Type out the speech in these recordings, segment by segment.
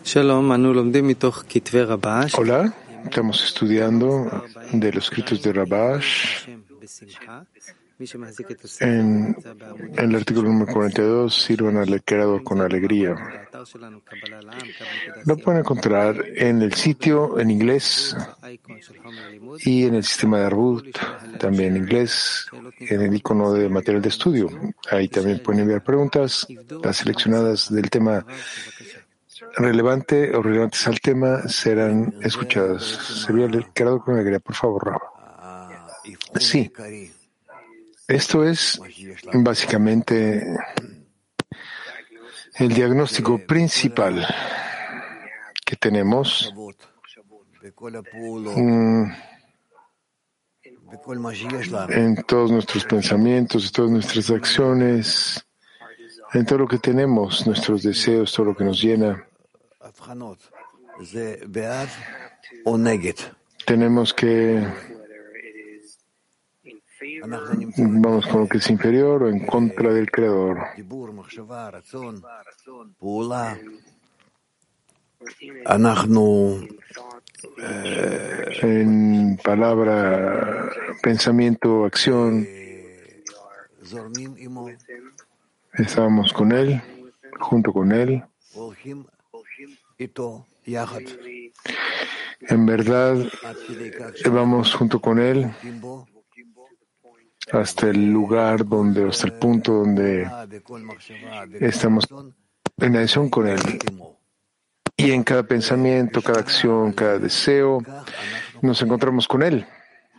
Hola, estamos estudiando de los escritos de Rabash en el artículo número 42, sirvan al creador con alegría. Lo pueden encontrar en el sitio en inglés y en el sistema de Arbut, también en inglés, en el icono de material de estudio. Ahí también pueden enviar preguntas, las seleccionadas del tema relevante o relevantes al tema serán escuchadas. Sería el creador con alegría, por favor, Raba. Sí, esto es básicamente el diagnóstico principal que tenemos en todos nuestros pensamientos, en todas nuestras acciones, en todo lo que tenemos, nuestros deseos, todo lo que nos llena. Tenemos que vamos con lo que es inferior o en contra del Creador. En palabra, pensamiento, acción, estábamos con Él, junto con Él. En verdad, vamos junto con Él hasta el lugar donde, hasta el punto donde estamos en adhesión con Él. Y en cada pensamiento, cada acción, cada deseo, nos encontramos con Él.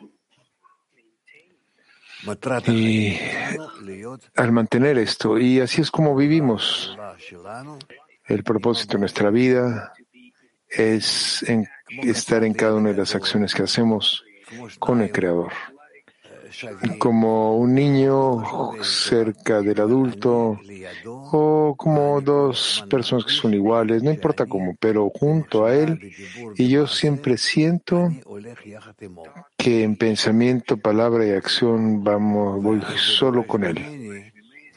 Y al mantener esto, y así es como vivimos. El propósito de nuestra vida es estar en cada una de las acciones que hacemos con el Creador. Como un niño cerca del adulto o como dos personas que son iguales, no importa cómo, pero junto a él. Y yo siempre siento que en pensamiento, palabra y acción voy solo con él.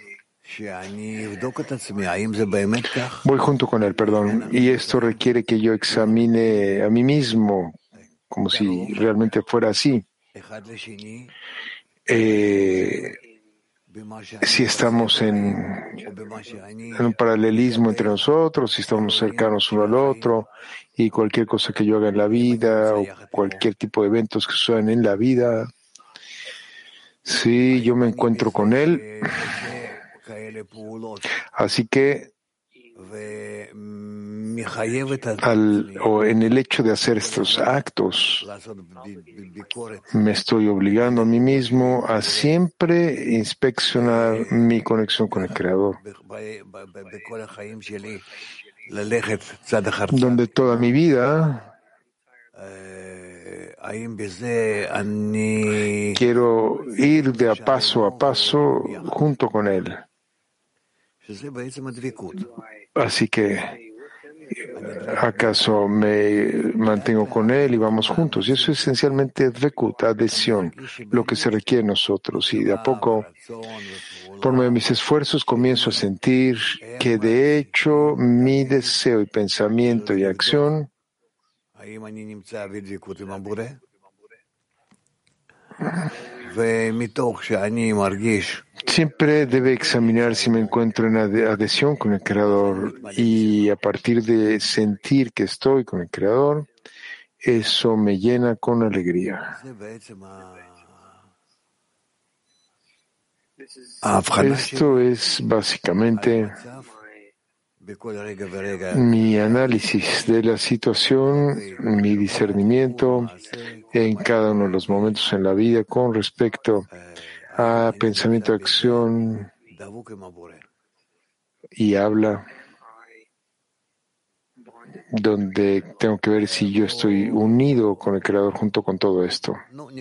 Voy junto con él, perdón. Y esto requiere que yo examine a mí mismo como si realmente fuera así. Si estamos en un paralelismo entre nosotros, si estamos cercanos uno al otro, y cualquier cosa que yo haga en la vida o cualquier tipo de eventos que sucedan en la vida, sí, yo me encuentro con él. Así que o en el hecho de hacer estos actos, me estoy obligando a mí mismo a siempre inspeccionar mi conexión con el Creador, donde toda mi vida quiero ir de a paso junto con Él. Así que ¿acaso me mantengo con Él y vamos juntos? Y eso es esencialmente Dvekut, adhesión, lo que se requiere de nosotros. Y de a poco, por medio de mis esfuerzos, comienzo a sentir que de hecho mi deseo y pensamiento y acción siempre debe examinar si me encuentro en adhesión con el Creador, y a partir de sentir que estoy con el Creador, eso me llena con alegría. Esto es básicamente mi análisis de la situación, mi discernimiento en cada uno de los momentos en la vida con respecto a pensamiento, acción y habla, donde tengo que ver si yo estoy unido con el Creador junto con todo esto.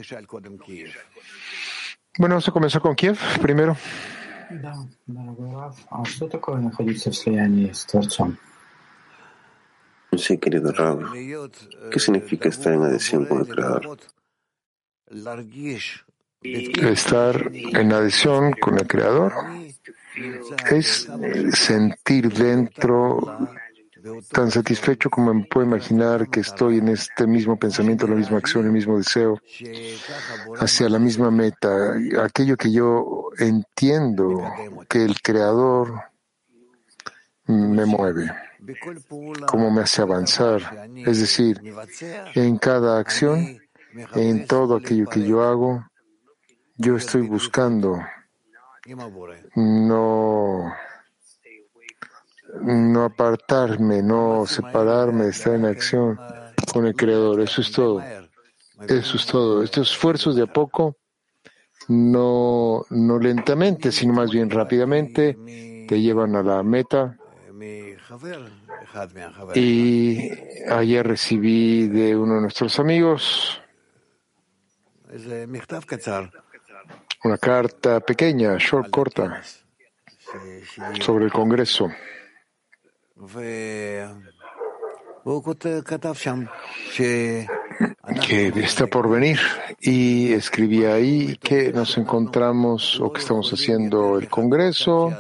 Bueno, vamos a comenzar con Kiev primero. Sí, querido Rab, ¿qué significa estar en adhesión con el Creador? Estar en adhesión con el Creador es sentir dentro tan satisfecho como me puedo imaginar que estoy en este mismo pensamiento, la misma acción, el mismo deseo, hacia la misma meta, aquello que yo entiendo que el Creador me mueve, cómo me hace avanzar. Es decir, en cada acción, en todo aquello que yo hago, yo estoy buscando no apartarme, no separarme, estar en acción con el Creador. Eso es todo. Eso es todo. Estos esfuerzos de a poco, no lentamente, sino más bien rápidamente, te llevan a la meta. Y ayer recibí de uno de nuestros amigos una carta pequeña, corta, sobre el Congreso. Que está por venir, y escribí ahí que nos encontramos o que estamos haciendo el Congreso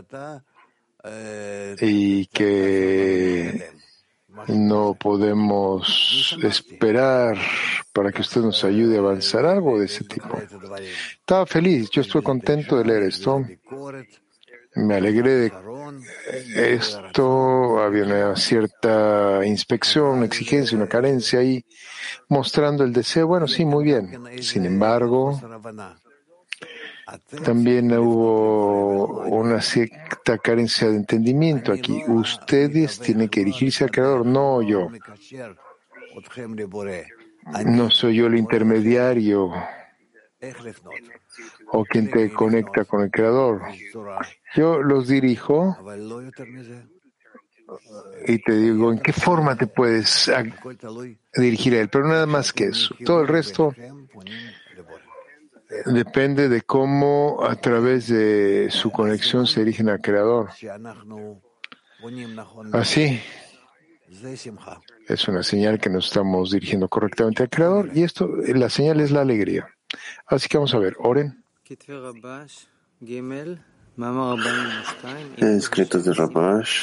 y que no podemos esperar para que usted nos ayude a avanzar, algo de ese tipo. Estaba feliz, yo estuve contento de leer esto. Me alegré de esto. Había una cierta inspección, una exigencia, una carencia ahí, mostrando el deseo. Bueno, sí, muy bien. Sin embargo, también hubo una cierta carencia de entendimiento aquí. Ustedes tienen que dirigirse al Creador, no yo. No soy yo el intermediario o quien te conecta con el Creador. Yo los dirijo y te digo en qué forma te puedes dirigir a Él, pero nada más que eso. Todo el resto depende de cómo a través de su conexión se dirigen al Creador. Así, es una señal que nos estamos dirigiendo correctamente al Creador, y esto, la señal es la alegría. Así que vamos a ver, oren. Escritos de Rabash,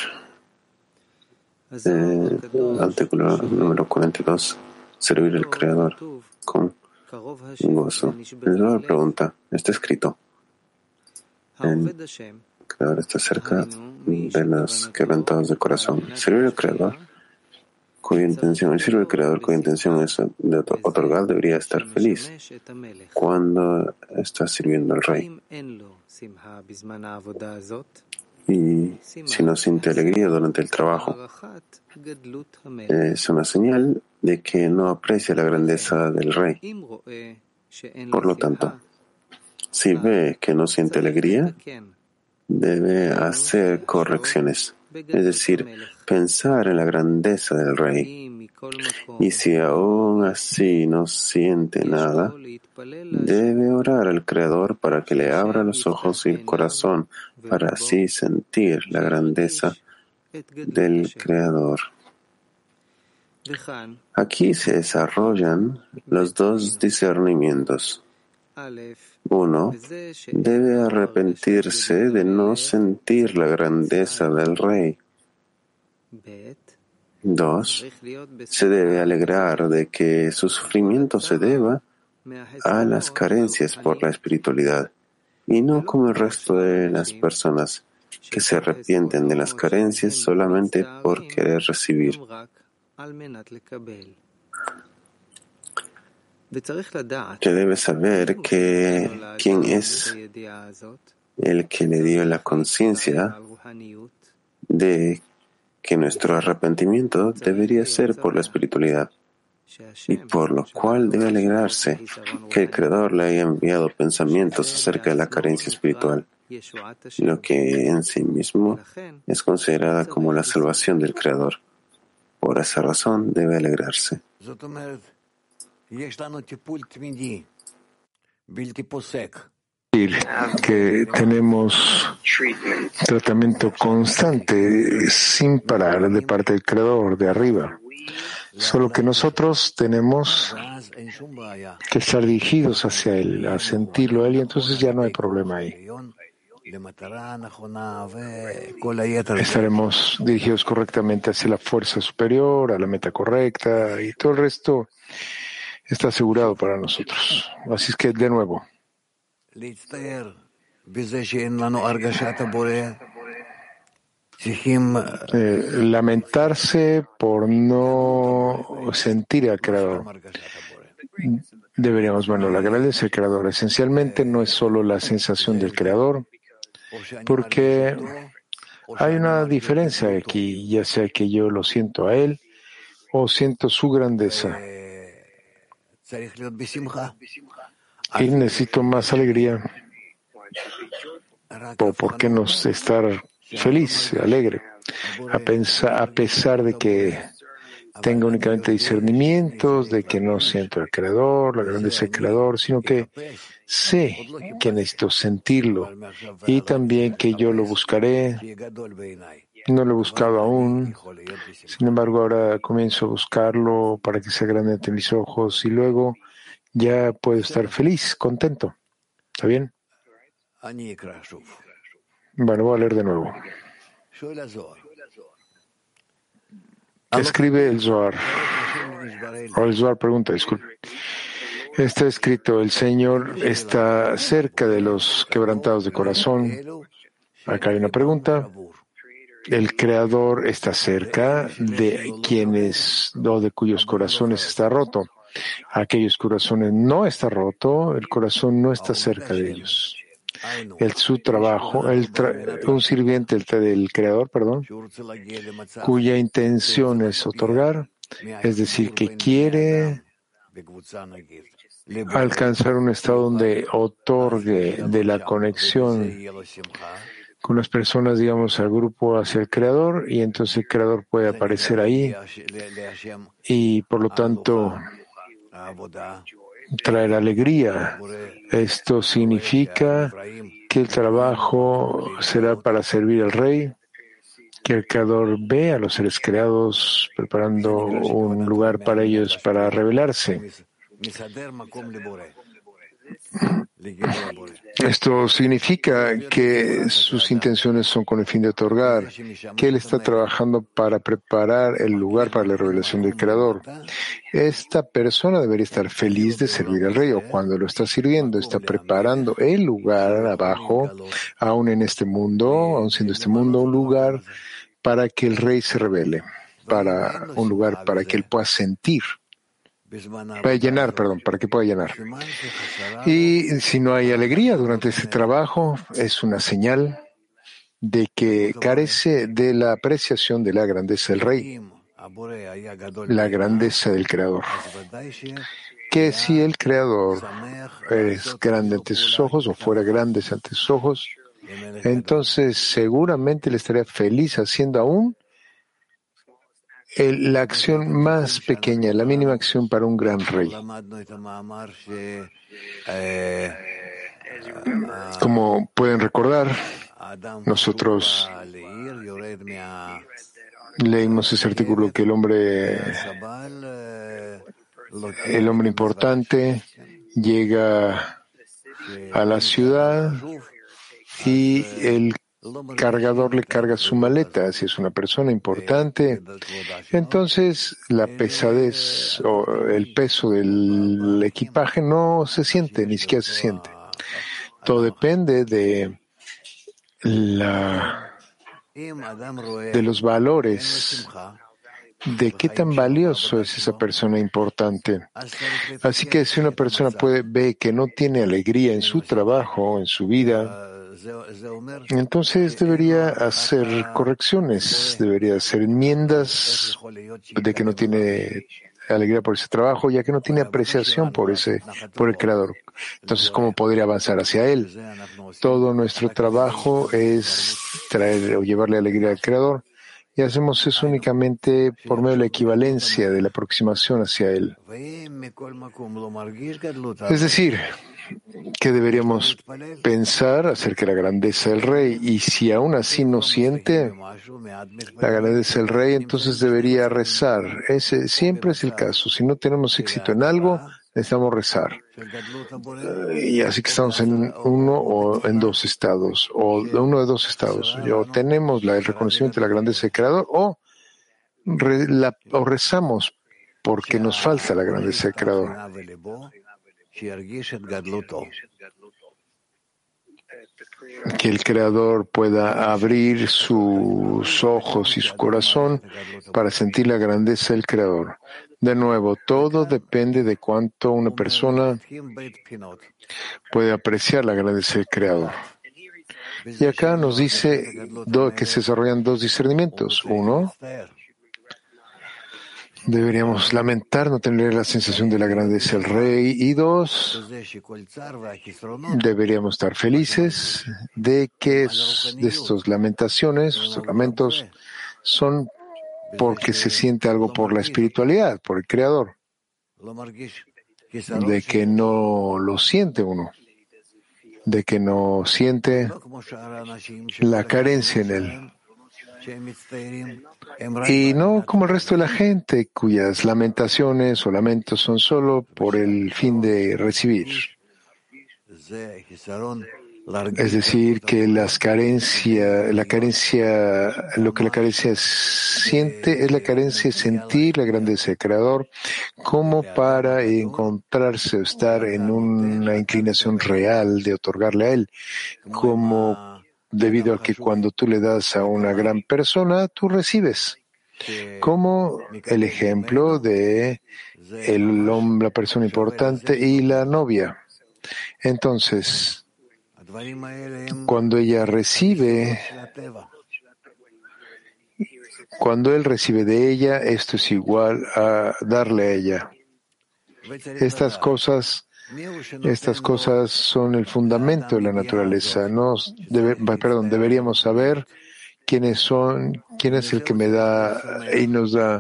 artículo número 42, servir al Creador con gozo. El Zohar pregunta, está escrito, el Creador está cerca de los quebrantados de corazón. Servir al Creador cuya intención, el siervo del Creador cuya intención es de otorgar, debería estar feliz cuando está sirviendo al Rey. Y si no siente alegría durante el trabajo, es una señal de que no aprecia la grandeza del Rey. Por lo tanto, si ve que no siente alegría, debe hacer correcciones, es decir, pensar en la grandeza del Rey. Y si aún así no siente nada, debe orar al Creador para que le abra los ojos y el corazón, para así sentir la grandeza del Creador. Aquí se desarrollan los dos discernimientos. Uno, debe arrepentirse de no sentir la grandeza del Rey. Dos, se debe alegrar de que su sufrimiento se deba a las carencias por la espiritualidad, y no como el resto de las personas que se arrepienten de las carencias solamente por querer recibir. Que debe saber que quién es el que le dio la conciencia de que nuestro arrepentimiento debería ser por la espiritualidad, y por lo cual debe alegrarse que el Creador le haya enviado pensamientos acerca de la carencia espiritual, lo que en sí mismo es considerada como la salvación del Creador. Por esa razón debe alegrarse. Que tenemos tratamiento constante, sin parar, de parte del Creador, de arriba. Solo que nosotros tenemos que estar dirigidos hacia Él, a sentirlo a Él, y entonces ya no hay problema ahí. estaremos dirigidos correctamente hacia la fuerza superior, a la meta correcta, y todo el resto está asegurado para nosotros. Así es que, de nuevo, lamentarse por no sentir al Creador. Deberíamos, la grandeza del Creador esencialmente no es solo la sensación del Creador, porque hay una diferencia aquí, ya sea que yo lo siento a Él o siento su grandeza. Y necesito más alegría. ¿O por qué no estar feliz, alegre? A pesar de que tenga únicamente discernimientos, de que no siento al Creador, la grandeza del Creador, sino que sé que necesito sentirlo y también que yo lo buscaré. No lo he buscado aún, sin embargo ahora comienzo a buscarlo para que sea grande ante mis ojos y luego ya puedo estar feliz, contento. ¿Está bien? Bueno, voy a leer de nuevo. Escribe el Zohar. O el Zohar pregunta, disculpe. Está escrito, el Señor está cerca de los quebrantados de corazón. Acá hay una pregunta. El Creador está cerca de quienes o de cuyos corazones está roto. Aquellos corazones no está roto, el corazón no está cerca de ellos. Su trabajo, un sirviente del Creador, cuya intención es otorgar, es decir, que quiere alcanzar un estado donde otorgue de la conexión con las personas, digamos, al grupo hacia el Creador, y entonces el Creador puede aparecer ahí y por lo tanto traer alegría. Esto significa que el trabajo será para servir al Rey, que el Creador ve a los seres creados preparando un lugar para ellos para revelarse. Esto significa que sus intenciones son con el fin de otorgar, que Él está trabajando para preparar el lugar para la revelación del Creador. Esta persona debería estar feliz de servir al Rey, o cuando lo está sirviendo, está preparando el lugar abajo, aún en este mundo, aún siendo este mundo un lugar para que el Rey se revele, para un lugar para que Él pueda sentir. Para que pueda llenar. Y si no hay alegría durante este trabajo, es una señal de que carece de la apreciación de la grandeza del Rey, la grandeza del Creador. Que si el Creador es grande ante sus ojos o fuera grande ante sus ojos, entonces seguramente le estaría feliz haciendo aún la acción más pequeña, la mínima acción para un gran rey. Como pueden recordar, nosotros leímos ese artículo que el hombre importante llega a la ciudad y el cargador le carga su maleta. Si es una persona importante, entonces la pesadez o el peso del equipaje no se siente, ni siquiera se siente. Todo depende de los valores, de qué tan valioso es esa persona importante. Así que si una persona ve que no tiene alegría en su trabajo, en su vida, entonces debería hacer correcciones, debería hacer enmiendas de que no tiene alegría por ese trabajo, ya que no tiene apreciación por el Creador. Entonces, ¿cómo podría avanzar hacia Él? Todo nuestro trabajo es traer o llevarle alegría al Creador, y hacemos eso únicamente por medio de la equivalencia, de la aproximación hacia Él. Es decir, que deberíamos pensar acerca de la grandeza del Rey, y si aún así no siente la grandeza del Rey, entonces debería rezar. Ese siempre es el caso. Si no tenemos éxito en algo, necesitamos rezar. Y así que estamos en uno o en dos estados, o uno de dos estados. O tenemos el reconocimiento de la grandeza del Creador, o rezamos porque nos falta la grandeza del Creador. Que el Creador pueda abrir sus ojos y su corazón para sentir la grandeza del Creador. De nuevo, todo depende de cuánto una persona puede apreciar la grandeza del Creador. Y acá nos dice que se desarrollan dos discernimientos. Uno, deberíamos lamentar no tener la sensación de la grandeza del Rey. Y dos, deberíamos estar felices de que de estos lamentaciones, estos lamentos, son porque se siente algo por la espiritualidad, por el Creador, de que no lo siente uno, de que no siente la carencia en él. Y no como el resto de la gente, cuyas lamentaciones o lamentos son solo por el fin de recibir. Es decir, que la carencia, lo que la carencia siente es la carencia de sentir la grandeza del Creador como para encontrarse o estar en una inclinación real de otorgarle a Él, como debido a que cuando tú le das a una gran persona, tú recibes. Como el ejemplo de el hombre, la persona importante y la novia. Entonces, cuando él recibe de ella, esto es igual a darle a ella. Estas cosas son el fundamento de la naturaleza. Deberíamos saber quién es el que me da y nos da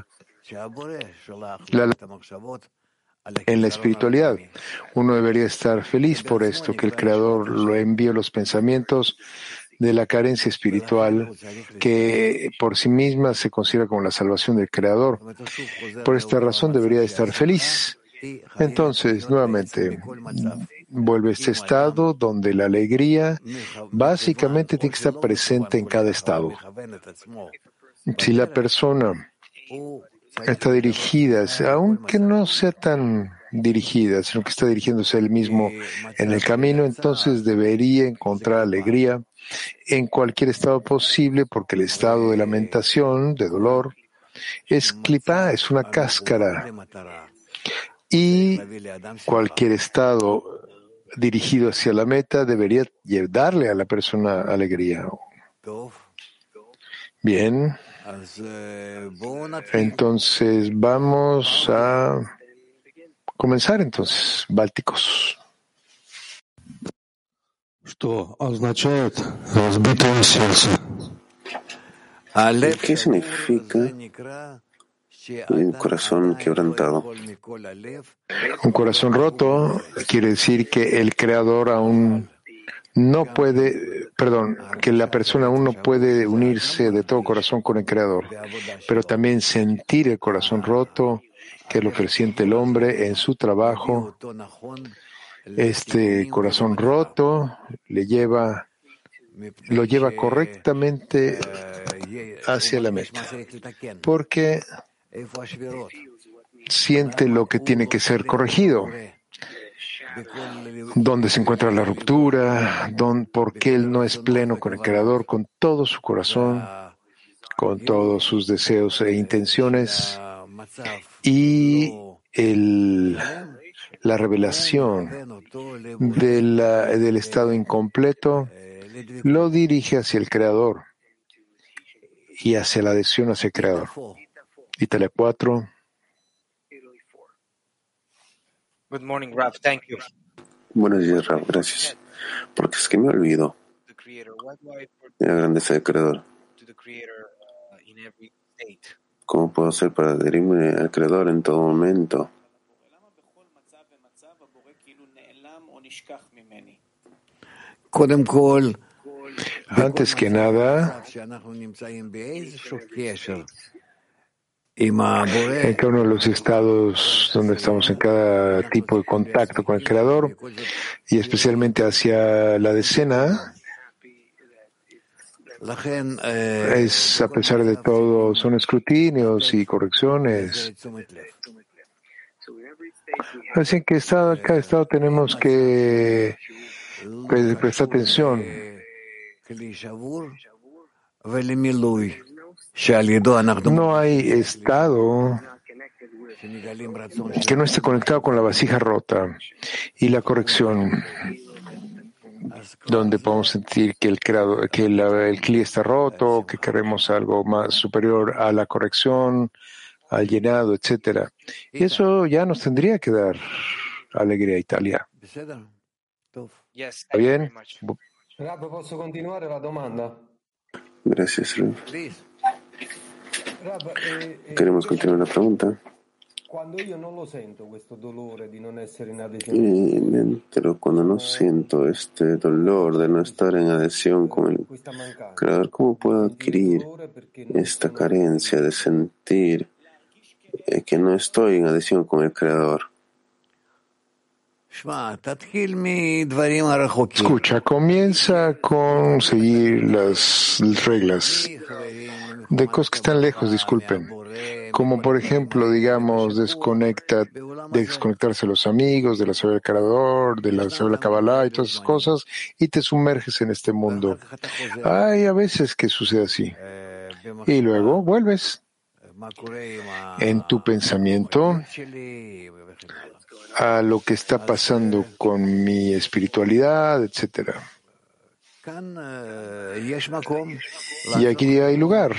en la espiritualidad. Uno debería estar feliz por esto, que el Creador lo envió los pensamientos de la carencia espiritual, que por sí misma se considera como la salvación del Creador. Por esta razón debería estar feliz. Entonces, nuevamente, vuelve a este estado donde la alegría básicamente tiene que estar presente en cada estado. Si la persona está dirigida, aunque no sea tan dirigida, sino que está dirigiéndose él mismo en el camino, entonces debería encontrar alegría en cualquier estado posible, porque el estado de lamentación, de dolor, es clipá, es una cáscara. Y cualquier estado dirigido hacia la meta debería darle a la persona alegría. Bien. Entonces vamos a comenzar entonces, bálticos. ¿Qué significa un corazón quebrantado? Un corazón roto quiere decir que el Creador aún no puede, que la persona aún no puede unirse de todo corazón con el Creador, pero también sentir el corazón roto, que es lo que siente el hombre en su trabajo. Este corazón roto lo lleva correctamente hacia la meta, porque siente lo que tiene que ser corregido. Dónde se encuentra la ruptura, por qué él no es pleno con el Creador, con todo su corazón, con todos sus deseos e intenciones, y la revelación del estado incompleto lo dirige hacia el Creador y hacia la adhesión hacia el Creador. Italia 4. Good morning, Raf. Thank you. Buenos días, Rav. Gracias. Porque es que me olvido de la grandeza del Creador. ¿Cómo puedo hacer para adherirme al Creador en todo momento? Antes que nada, en cada uno de los estados donde estamos, en cada tipo de contacto con el Creador, y especialmente hacia la decena, es, a pesar de todo, son escrutinios y correcciones. Así que cada estado tenemos que prestar atención. No hay estado que no esté conectado con la vasija rota y la corrección, donde podemos sentir que el cli está roto, que queremos algo más superior a la corrección, al llenado, etcétera. Y eso ya nos tendría que dar alegría, Italia. Yes, ¿Está thank you very bien? much. Rab, posso continuare la domanda? Gracias, Rav. Rab, Queremos continuar la pregunta. quando io non lo sento questo dolore di non essere in Y adesione, me entero cuando no siento este dolor de no estar en adhesión con el questa mancanza, Creador, ¿cómo puedo sentire adquirir dolore perché non esta sono carencia de sentir que no estoy en adhesión con el Creador? Escucha, comienza con seguir las reglas de cosas que están lejos, disculpen. Como por ejemplo, digamos, desconectarse de los amigos, de la saber del Creador, de la saber la Kabbalah y todas esas cosas, y te sumerges en este mundo. Hay a veces que sucede así. Y luego vuelves en tu pensamiento a lo que está pasando con mi espiritualidad, etcétera. Y aquí hay lugar,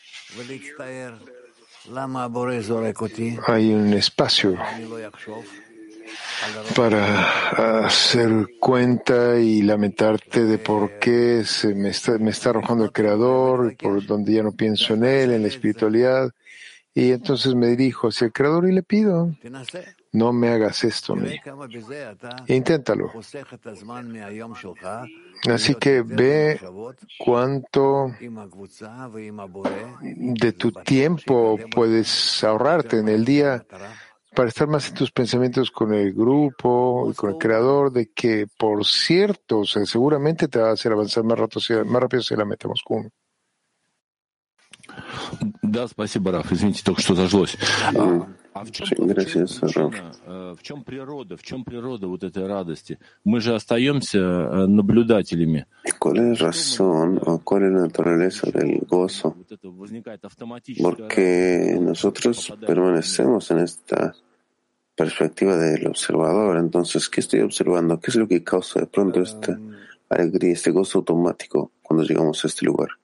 hay un espacio para hacer cuenta y lamentarte de por qué me está arrojando el Creador, por donde ya no pienso en Él, en la espiritualidad. Y entonces me dirijo hacia el Creador y le pido, no me hagas esto a mí. Inténtalo. Así que ve cuánto de tu tiempo puedes ahorrarte en el día para estar más en tus pensamientos con el grupo y con el Creador, de que, por cierto, o sea, seguramente te va a hacer avanzar más rápido si la metemos con. Да, спасибо, Раф. Извините, только что зажглось. Sí, gracias, Rav. В чем природа вот этой радости? Мы же остаемся наблюдателями. ¿Cuál es la razón o cuál es la naturaleza del gozo? Вот это возникает автоматически. Porque nosotros permanecemos en esta perspectiva del observador. Entonces, ¿qué estoy observando? ¿Qué es lo que causa de pronto esta alegría, este gozo automático cuando llegamos a este lugar?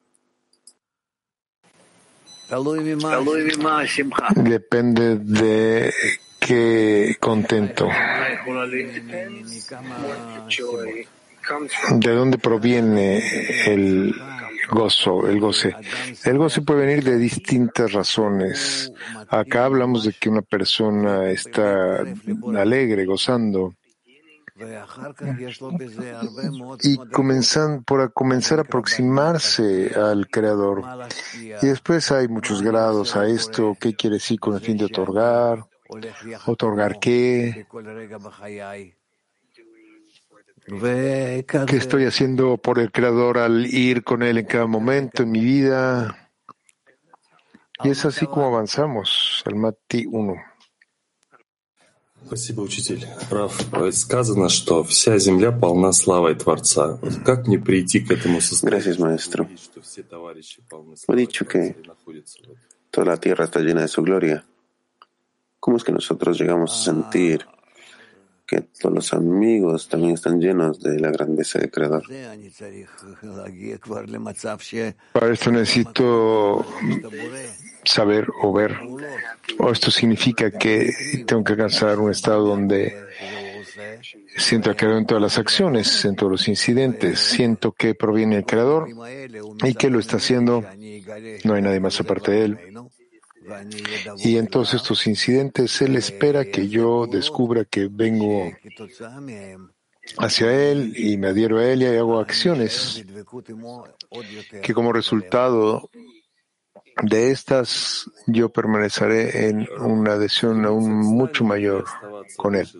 Depende de qué contento. ¿De dónde proviene el gozo, el goce? El goce puede venir de distintas razones. Acá hablamos de que una persona está alegre, gozando, y comenzar a aproximarse al Creador. Y después hay muchos grados a esto. ¿Qué quiere decir con el fin de otorgar? ¿Otorgar qué? ¿Qué estoy haciendo por el Creador al ir con Él en cada momento en mi vida? Y es así como avanzamos. El Mati 1. Спасибо, учитель. Раф, сказано, что вся земля полна славой Творца. Как мне прийти к этому Gracias, maestro. состоянию, что все товарищи полны He славой dicho Творца que и находятся в этом? toda la tierra está llena de su gloria. ¿Cómo es que nosotros llegamos a sentir que todos los amigos también están llenos de la grandeza del Creador? Para esto necesito saber o ver. O esto significa que tengo que alcanzar un estado donde siento el Creador en todas las acciones, en todos los incidentes. Siento que proviene el Creador y que lo está haciendo. No hay nadie más aparte de Él. Y en todos estos incidentes, Él espera que yo descubra que vengo hacia Él y me adhiero a Él y hago acciones que como resultado De estas, yo permaneceré en una adhesión aún mucho mayor con él.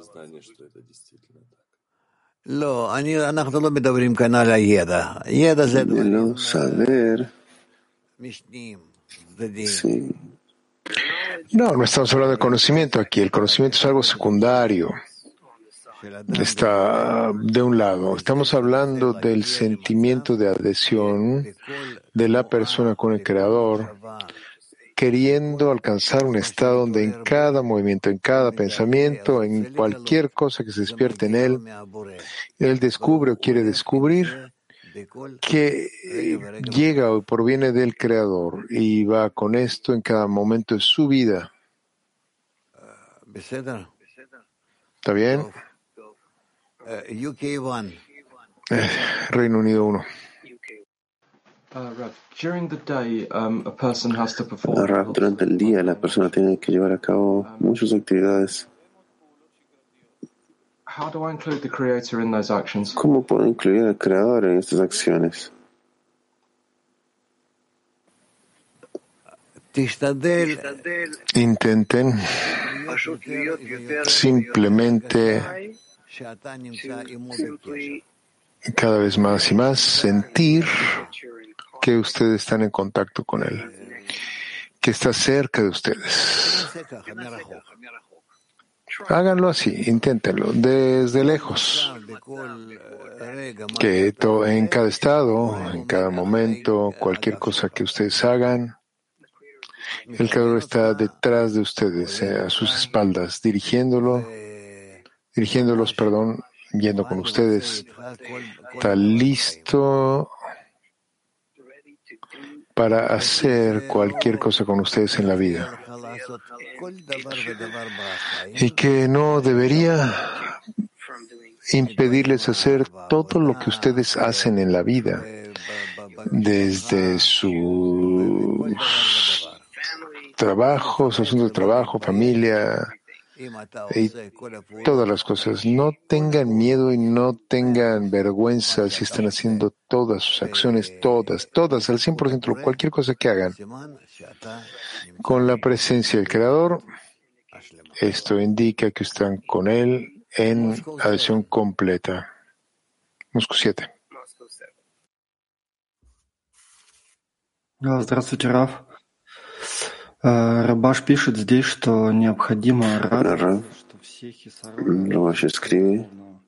De lo saber, sí. No estamos hablando de conocimiento aquí. El conocimiento es algo secundario. Está de un lado. Estamos hablando del sentimiento de adhesión de la persona con el Creador, queriendo alcanzar un estado donde en cada movimiento, en cada pensamiento, en cualquier cosa que se despierte en él descubre o quiere descubrir que llega o proviene del Creador y va con esto en cada momento de su vida. ¿Está bien? Reino Unido 1. Durante el día la persona tiene que llevar a cabo muchas actividades. ¿Cómo puedo incluir al Creador en estas acciones? Intenten simplemente cada vez más y más sentir que ustedes están en contacto con Él, que está cerca de ustedes. Háganlo así, inténtenlo, desde lejos, que en cada estado, en cada momento, cualquier cosa que ustedes hagan, el Creador está detrás de ustedes, a sus espaldas, dirigiéndolos, yendo con ustedes. Está listo para hacer cualquier cosa con ustedes en la vida. Y que no debería impedirles hacer todo lo que ustedes hacen en la vida, desde sus trabajos, asuntos de trabajo, familia y todas las cosas. No tengan miedo y no tengan vergüenza si están haciendo todas sus acciones, todas, al 100%, cualquier cosa que hagan, con la presencia del Creador. Esto indica que están con Él en adhesión completa. Moscú 7. Здравствуйте, Раф. Рабаш пишет здесь, что необходимо радоваться, что все Rabash escribe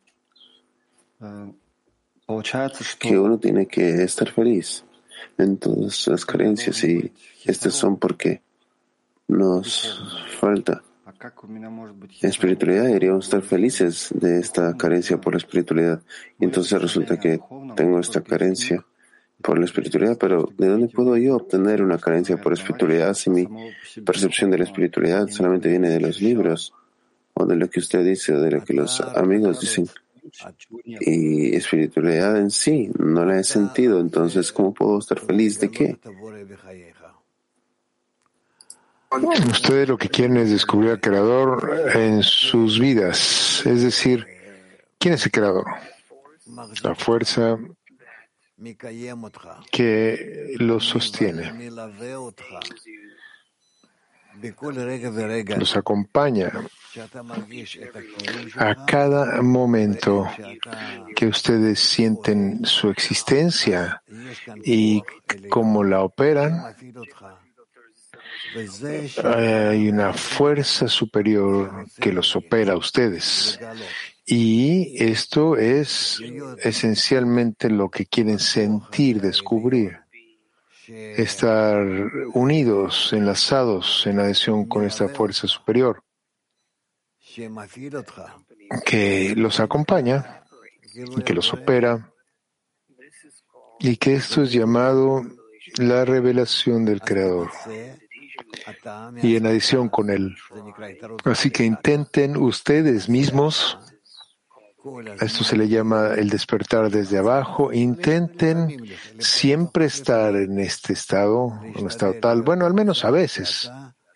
получается, que что uno tiene que estar feliz en todas las carencias y estas son porque nos falta espiritualidad. Deberíamos estar felices de esta carencia por la espiritualidad. Y entonces resulta que tengo esta carencia por la espiritualidad, pero ¿de dónde puedo yo obtener una carencia por espiritualidad si mi percepción de la espiritualidad solamente viene de los libros o de lo que usted dice o de lo que los amigos dicen? Y espiritualidad en sí no la he sentido, entonces ¿cómo puedo estar feliz de qué? Ustedes lo que quieren es descubrir al Creador en sus vidas, es decir, ¿quién es el Creador? La fuerza que los sostiene, los acompaña a cada momento que ustedes sienten su existencia y cómo la operan. Hay una fuerza superior que los opera a ustedes. Y esto es esencialmente lo que quieren sentir, descubrir. Estar unidos, enlazados en adhesión con esta fuerza superior que los acompaña y que los opera, y que esto es llamado la revelación del Creador y en adición con Él. Así que intenten ustedes mismos, a esto se le llama el despertar desde abajo, intenten siempre estar en este estado, en un estado tal, bueno, al menos a veces,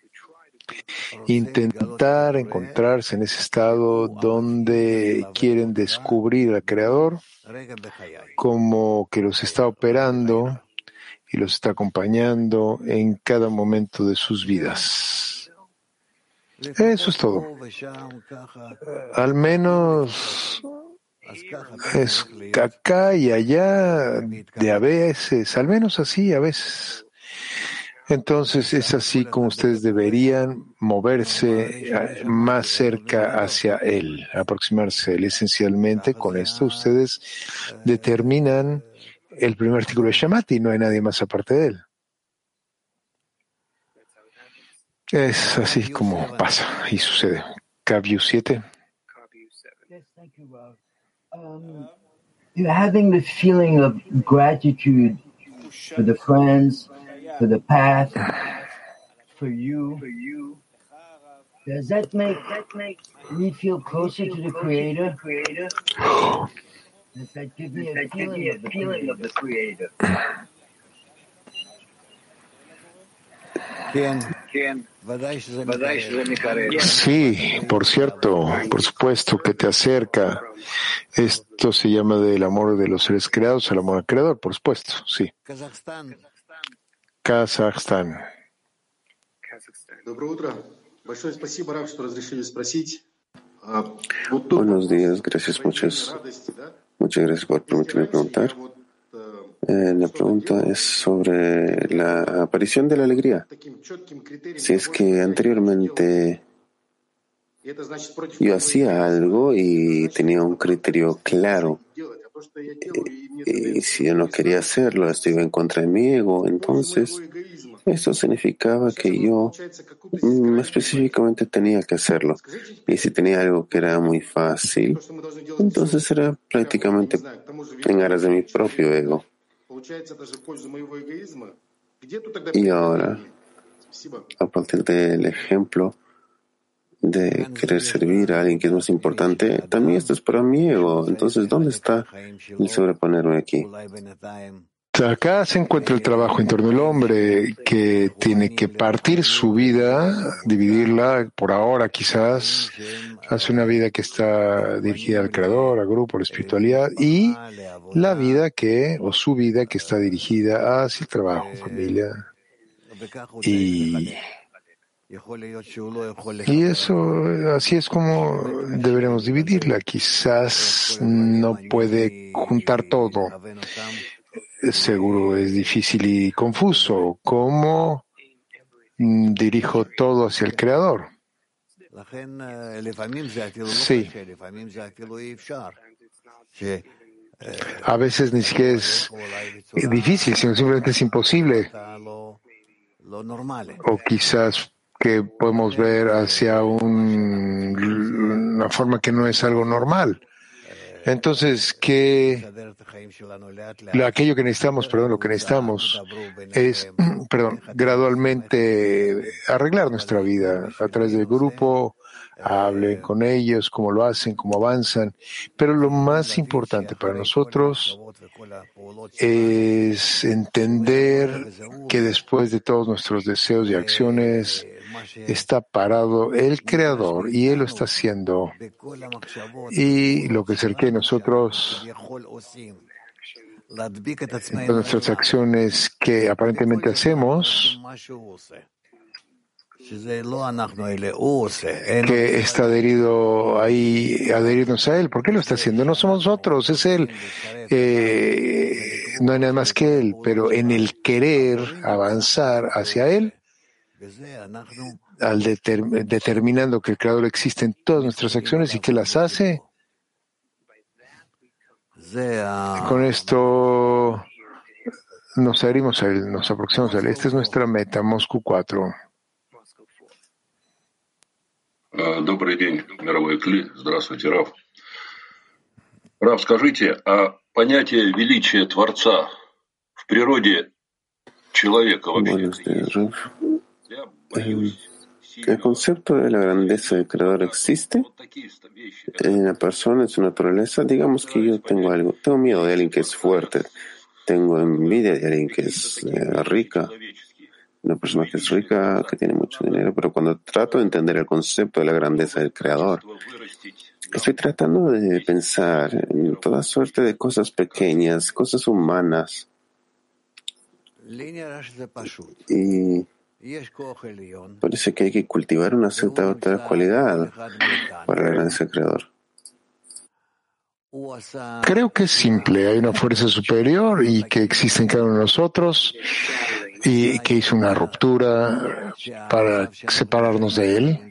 intentar encontrarse en ese estado donde quieren descubrir al Creador como que los está operando y los está acompañando en cada momento de sus vidas. Eso es todo. Al menos es acá y allá, de a veces, al menos así a veces. Entonces es así como ustedes deberían moverse más cerca hacia Él, aproximarse a Él. Esencialmente, con esto ustedes determinan el primer artículo de Shamati, no hay nadie más aparte de Él. Es así como pasa y sucede. Kavyu 7. You're having this feeling of gratitude for the friends, for the path, for you. Does that make me feel closer to the Creator? Does that give me a feeling of the Creator? Sí, por cierto, por supuesto que te acerca. Esto se llama del amor de los seres creados al amor al creador, por supuesto, sí. Kazajstán. Buenos días, gracias muchas gracias por permitirme preguntar. La pregunta es sobre la aparición de la alegría. Si es que anteriormente yo hacía algo y tenía un criterio claro, y si yo no quería hacerlo, esto iba en contra de mi ego, entonces eso significaba que yo específicamente tenía que hacerlo. Y si tenía algo que era muy fácil, entonces era prácticamente en aras de mi propio ego. Y ahora, a partir del ejemplo de querer servir a alguien que es más importante, también esto es para mi ego. Entonces, ¿dónde está el sobreponerme aquí? Acá se encuentra el trabajo en torno al hombre, que tiene que partir su vida, dividirla por ahora quizás, hace una vida que está dirigida al Creador, al grupo, a la espiritualidad, y la vida o su vida que está dirigida hacia el trabajo, familia. Y eso, así es como deberemos dividirla. Quizás no puede juntar todo. Seguro es difícil y confuso. ¿Cómo dirijo todo hacia el Creador? Sí. A veces ni siquiera es difícil, sino simplemente es imposible. O quizás que podemos ver hacia una forma que no es algo normal. Entonces, aquello que necesitamos, lo que necesitamos es, gradualmente arreglar nuestra vida a través del grupo, hablen con ellos, cómo lo hacen, cómo avanzan. Pero lo más importante para nosotros es entender que después de todos nuestros deseos y acciones está parado el Creador y Él lo está haciendo. Y lo que se requiere de nosotros, nuestras acciones que aparentemente hacemos, que está adherirnos a Él. ¿Por qué lo está haciendo? No somos nosotros, es Él. No hay nada más que Él, pero en el querer avanzar hacia Él, al determinando que el Creador existe en todas nuestras acciones y que las hace, con esto nos adherimos a Él, nos aproximamos a Él. Esta es nuestra meta, Moscú 4. Добрый день, мировой Кли. Здравствуйте, Рав. Рав, скажите, а понятие величия Творца в природе человека вообще есть? Я боюсь. ¿El concepto de la grandeza del Creador existe en la persona, en su naturaleza? Digamos que yo tengo miedo de alguien que es fuerte, tengo envidia de alguien que es rica, una persona que es rica, que tiene mucho dinero, pero cuando trato de entender el concepto de la grandeza del Creador, estoy tratando de pensar en toda suerte de cosas pequeñas, cosas humanas, Y parece que hay que cultivar una cierta otra cualidad para la grandeza del Creador. Creo que es simple. Hay una fuerza superior y que existe en cada uno de nosotros y que hizo una ruptura para separarnos de él.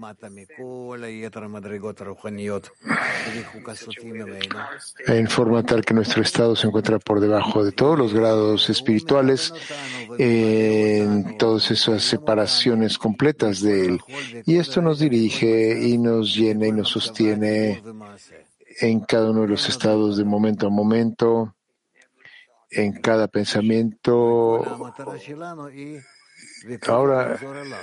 En forma tal que nuestro estado se encuentra por debajo de todos los grados espirituales, en todas esas separaciones completas de él. Y esto nos dirige y nos llena y nos sostiene en cada uno de los estados de momento a momento, en cada pensamiento. Ahora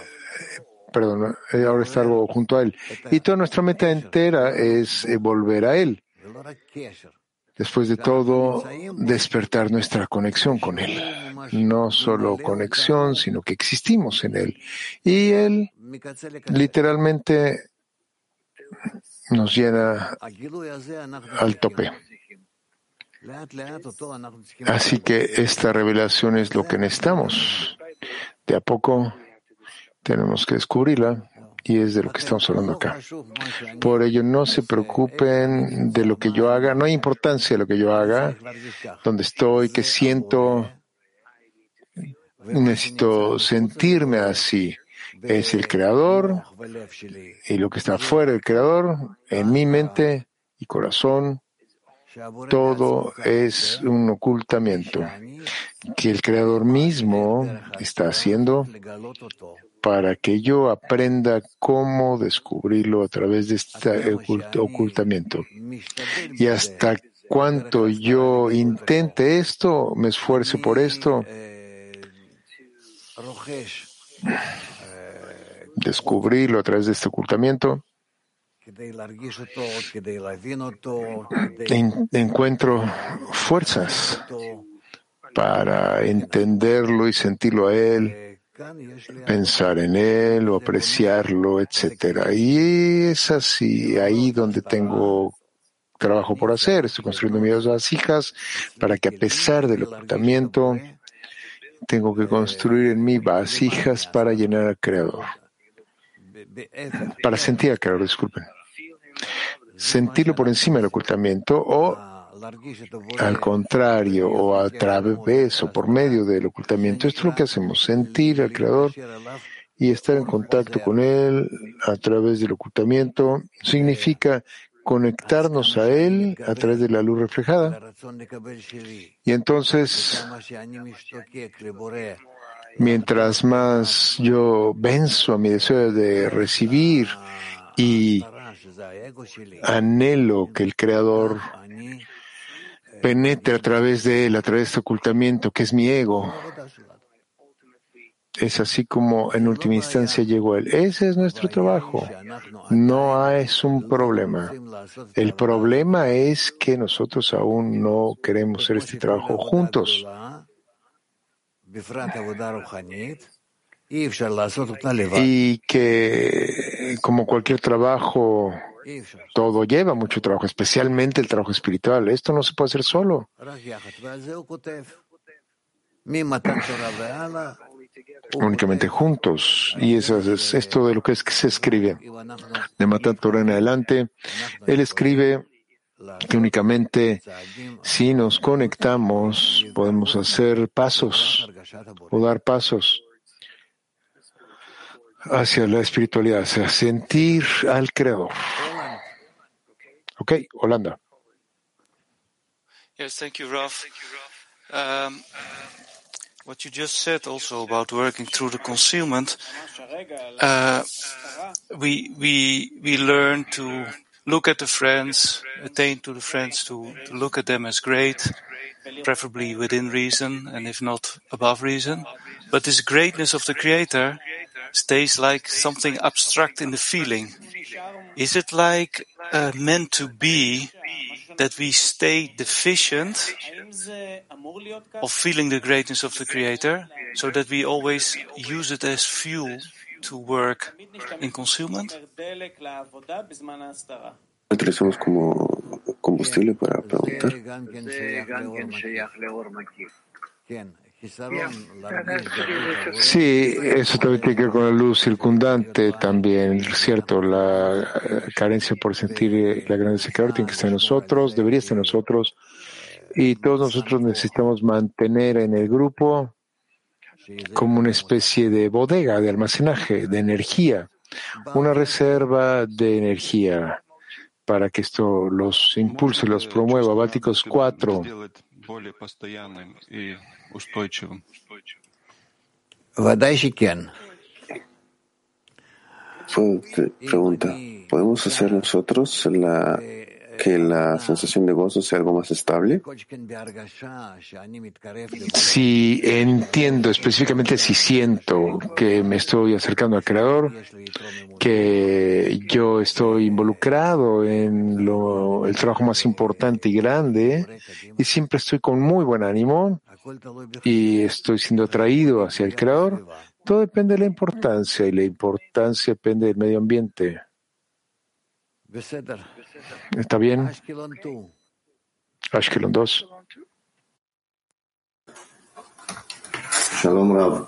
está algo junto a él. Y toda nuestra meta entera es volver a él. Después de todo, despertar nuestra conexión con él. No solo conexión, sino que existimos en él. Y él literalmente nos llena al tope. Así que esta revelación es lo que necesitamos. De a poco tenemos que descubrirla y es de lo que estamos hablando acá. Por ello, no se preocupen de lo que yo haga. No hay importancia de lo que yo haga, dónde estoy, qué siento. Necesito sentirme así. Es el Creador y lo que está fuera del Creador, en mi mente y corazón. Todo es un ocultamiento que el Creador mismo está haciendo para que yo aprenda cómo descubrirlo a través de este ocultamiento. Y hasta cuanto yo intente esto, me esfuerce por esto, descubrirlo a través de este ocultamiento, encuentro fuerzas para entenderlo y sentirlo a él, pensar en él o apreciarlo, etc. Y es así, ahí donde tengo trabajo por hacer. Estoy construyendo mis vasijas para que, a pesar del ocultamiento, tengo que construir en mí vasijas para llenar al Creador. Para sentir al Creador, disculpen. Sentirlo por encima del ocultamiento o al contrario, o a través o por medio del ocultamiento. Esto es lo que hacemos, sentir al Creador y estar en contacto con Él a través del ocultamiento. Significa conectarnos a Él a través de la luz reflejada. Y entonces, mientras más yo venzo a mi deseo de recibir y anhelo que el Creador penetre a través de él, a través de este ocultamiento que es mi ego, es así como en última instancia llegó él. Ese es nuestro trabajo. No es un problema. El problema es que nosotros aún no queremos hacer este trabajo juntos. Y que, como cualquier trabajo, todo lleva mucho trabajo, especialmente el trabajo espiritual. Esto no se puede hacer solo. Únicamente juntos. Y eso es esto de lo que se escribe. De Matan Torah en adelante, él escribe que únicamente si nos conectamos podemos hacer pasos o dar pasos hacia la espiritualidad, hacia sentir al Creador. Ok, Holanda. Yes, thank you, Raf. What you just said also about working through the concealment, we learn to look at the friends, attain to the friends, to look at them as great, preferably within reason, and if not above reason. But this greatness of the Creator stays like something abstract in the feeling. Is it like meant to be that we stay deficient of feeling the greatness of the Creator, so that we always use it as fuel to work in concealment? Lo utilizamos como combustible para preguntar. Sí, eso también tiene que ver con la luz circundante también, ¿cierto? La carencia por sentir la grandeza del Creador tiene que estar en nosotros, debería estar en nosotros, y todos nosotros necesitamos mantener en el grupo como una especie de bodega, de almacenaje, de energía, una reserva de energía para que esto los impulse, los promueva. Bálticos 4. Pregunta, ¿podemos hacer nosotros que la sensación de gozo sea algo más estable? Si entiendo específicamente, si siento que me estoy acercando al Creador, que yo estoy involucrado en el trabajo más importante y grande, y siempre estoy con muy buen ánimo y estoy siendo atraído hacia el Creador, todo depende de la importancia, y la importancia depende del medio ambiente. ¿Está bien? Ashkelon 2. Shalom Rav.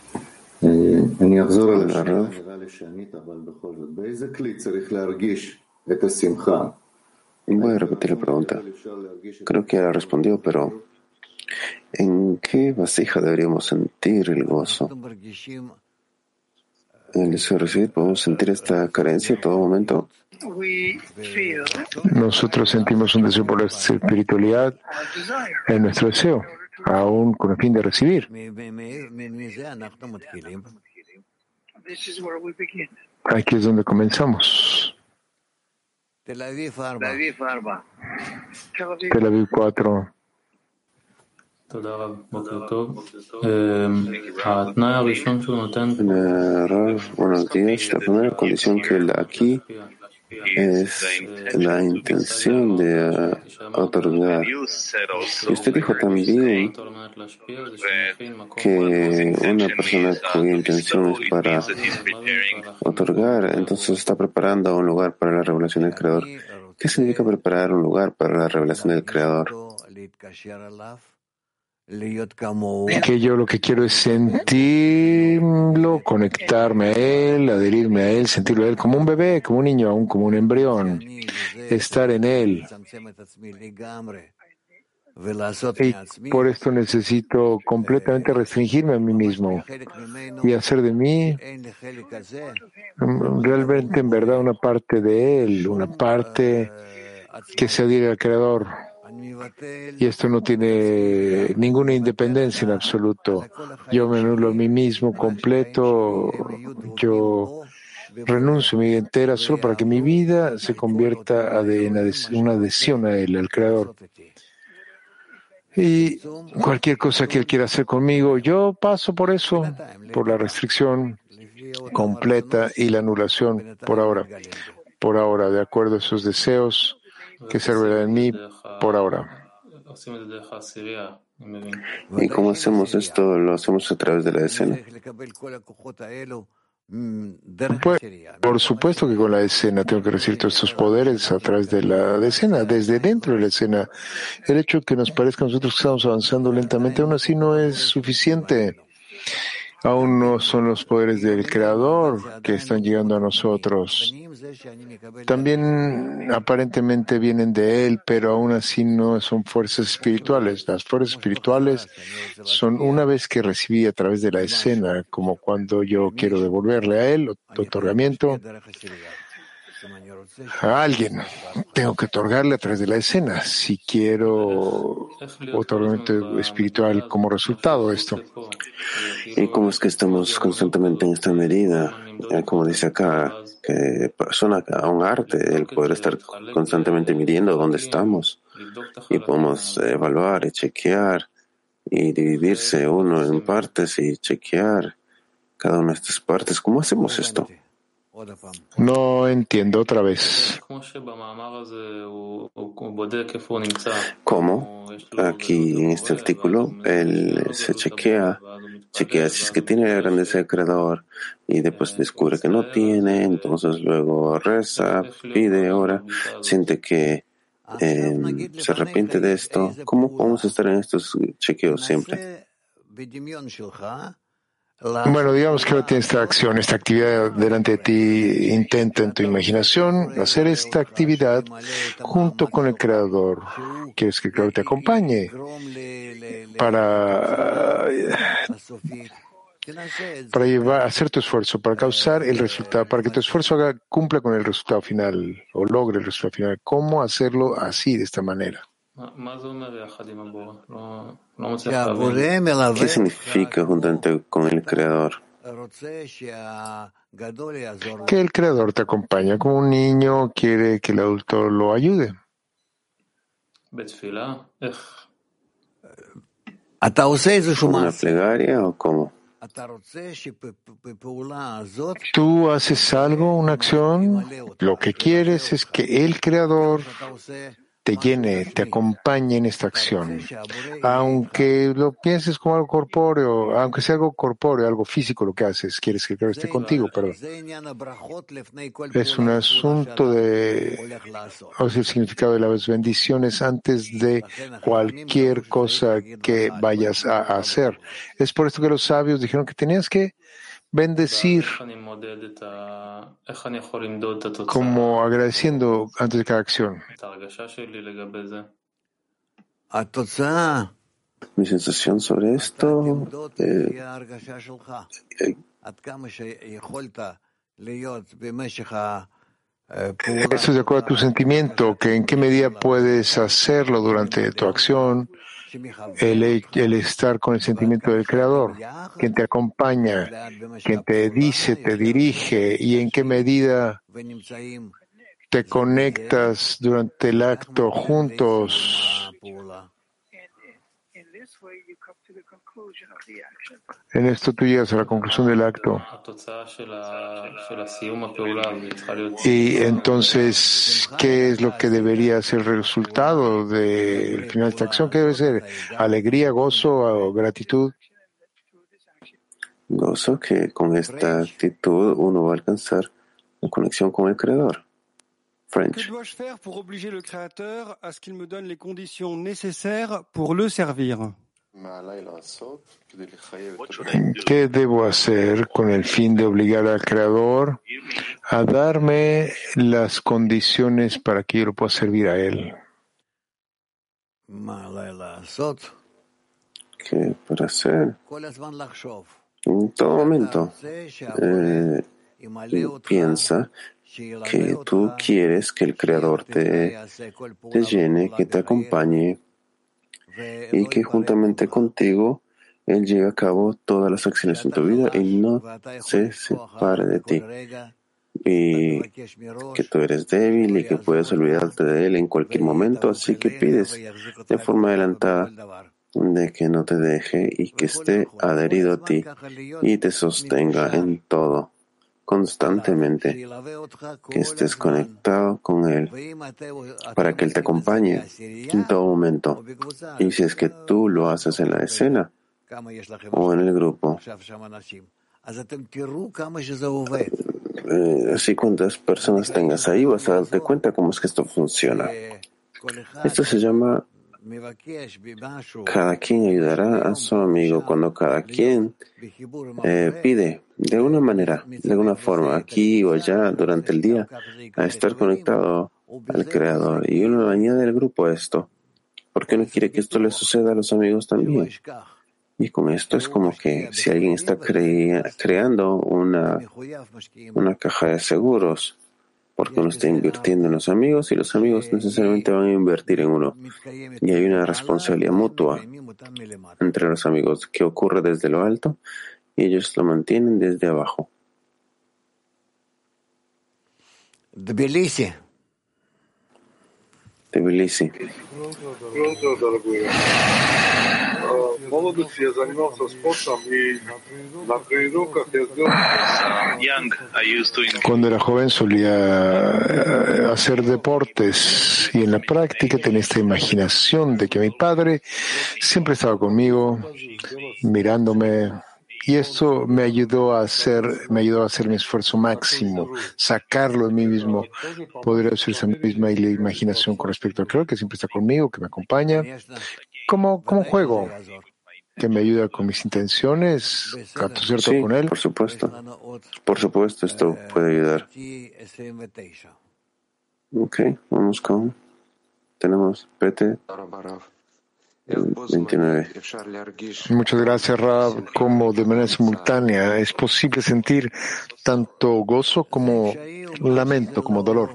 Voy a repetir la pregunta. Creo que ya respondió, pero ¿en qué vasija deberíamos sentir el gozo? En el deseo de recibir, ¿podemos sentir esta carencia en todo momento? Nosotros sentimos un deseo por la espiritualidad en nuestro deseo, aún con el fin de recibir. Aquí es donde comenzamos. Tel Aviv 4. Buenos días. La primera condición que él da aquí es la intención de otorgar. Y usted dijo también que una persona cuya intención es para otorgar, entonces está preparando un lugar para la revelación del Creador. ¿Qué significa preparar un lugar para la revelación del Creador? Que yo lo que quiero es sentirlo, conectarme a él, adherirme a él, sentirlo a él como un bebé, como un niño, aún como un embrión, estar en él. Y por esto necesito completamente restringirme a mí mismo y hacer de mí realmente, en verdad, una parte de él, una parte que se adhiere al Creador. Y esto no tiene ninguna independencia en absoluto. Yo me anulo a mí mismo completo, yo renuncio a mi vida entera solo para que mi vida se convierta en una adhesión a él, al Creador. Y cualquier cosa que él quiera hacer conmigo, yo paso por eso, por la restricción completa y la anulación por ahora, de acuerdo a esos deseos que se revelan en mí por ahora. ¿Y cómo hacemos esto? ¿Lo hacemos a través de la escena? Pues, por supuesto que con la escena tengo que recibir todos estos poderes a través de la escena, desde dentro de la escena. El hecho de que nos parezca a nosotros que estamos avanzando lentamente, aún así no es suficiente. Aún no son los poderes del Creador que están llegando a nosotros. También aparentemente vienen de Él, pero aún así no son fuerzas espirituales. Las fuerzas espirituales son una vez que recibí a través de la escena, como cuando yo quiero devolverle a Él otorgamiento a alguien. Tengo que otorgarle a través de la escena si quiero otorgamiento espiritual como resultado de esto. ¿Y cómo es que estamos constantemente en esta medida? Como dice acá, que suena a un arte el poder estar constantemente midiendo dónde estamos y podemos evaluar y chequear y dividirse uno en partes y chequear cada una de estas partes. ¿Cómo hacemos esto? No entiendo otra vez. ¿Cómo? Aquí en este artículo, él se chequea si es que tiene la grandeza del Creador y después descubre que no tiene, entonces luego reza, pide, ora, siente que se arrepiente de esto. ¿Cómo podemos estar en estos chequeos siempre? Bueno, digamos que ahora tienes esta acción, esta actividad delante de ti. Intenta en tu imaginación hacer esta actividad junto con el Creador. Quieres que el Creador te acompañe para llevar, hacer tu esfuerzo, para causar el resultado, para que tu esfuerzo cumpla con el resultado final o logre el resultado final. ¿Cómo hacerlo así, de esta manera? ¿Qué significa juntamente con el Creador? Que el Creador te acompaña como un niño quiere que el adulto lo ayude. ¿Como una plegaria o cómo? Tú haces algo, una acción, lo que quieres es que el Creador te llene, te acompañe en esta acción. Aunque lo pienses como algo corpóreo, aunque sea algo corpóreo, algo físico lo que haces, quieres que el Creador esté contigo, perdón. Es un asunto o sea, el significado de las bendiciones antes de cualquier cosa que vayas a hacer. Es por esto que los sabios dijeron que tenías que bendecir como agradeciendo antes de cada acción. Mi sensación sobre esto eso es de acuerdo a tu sentimiento, que en qué medida puedes hacerlo durante tu acción, el estar con el sentimiento del Creador, quien te acompaña, quien te dice, te dirige, y en qué medida te conectas durante el acto juntos. En esto tú llegas a la conclusión del acto. Y entonces, ¿qué es lo que debería ser el resultado del final de esta acción? ¿Qué debe ser? ¿Alegría, gozo o gratitud? Gozo que con esta actitud uno va a alcanzar la conexión con el Creador. French. Que dois-je faire pour obliger le Créateur à ce qu'il me donne les conditions nécessaires pour le servir? ¿Qué debo hacer con el fin de obligar al Creador a darme las condiciones para que yo lo pueda servir a Él? ¿Qué para hacer? En todo momento piensa que tú quieres que el Creador te llene, que te acompañe y que juntamente contigo Él lleve a cabo todas las acciones en tu vida y no se separe de ti. Y que tú eres débil y que puedes olvidarte de Él en cualquier momento, así que pides de forma adelantada de que no te deje y que esté adherido a ti y te sostenga en todo, constantemente, que estés conectado con Él, para que Él te acompañe en todo momento. Y si es que tú lo haces en la escena o en el grupo, así cuántas personas tengas ahí, vas a darte cuenta cómo es que esto funciona. Esto se llama cada quien ayudará a su amigo cuando cada quien pide de alguna manera, de alguna forma, aquí o allá durante el día, a estar conectado al Creador. Y uno añade al grupo esto, porque uno quiere que esto le suceda a los amigos también. Y con esto es como que si alguien está creando una caja de seguros, porque uno está invirtiendo en los amigos y los amigos necesariamente van a invertir en uno. Y hay una responsabilidad mutua entre los amigos que ocurre desde lo alto y ellos lo mantienen desde abajo. Tbilisi. Cuando era joven solía hacer deportes y en la práctica tenía esta imaginación de que mi padre siempre estaba conmigo, mirándome, y esto me ayudó a hacer mi esfuerzo máximo, sacarlo de mí mismo, poder hacer esa misma imaginación con respecto al Creador que siempre está conmigo, que me acompaña. ¿Cómo juego? que me ayuda con mis intenciones, ¿capto cierto Sí, con él? por supuesto. Por supuesto, esto puede ayudar. Ok, vamos con... Tenemos PT 29. Muchas gracias, Rab. Como de manera simultánea es posible sentir tanto gozo como lamento, como dolor.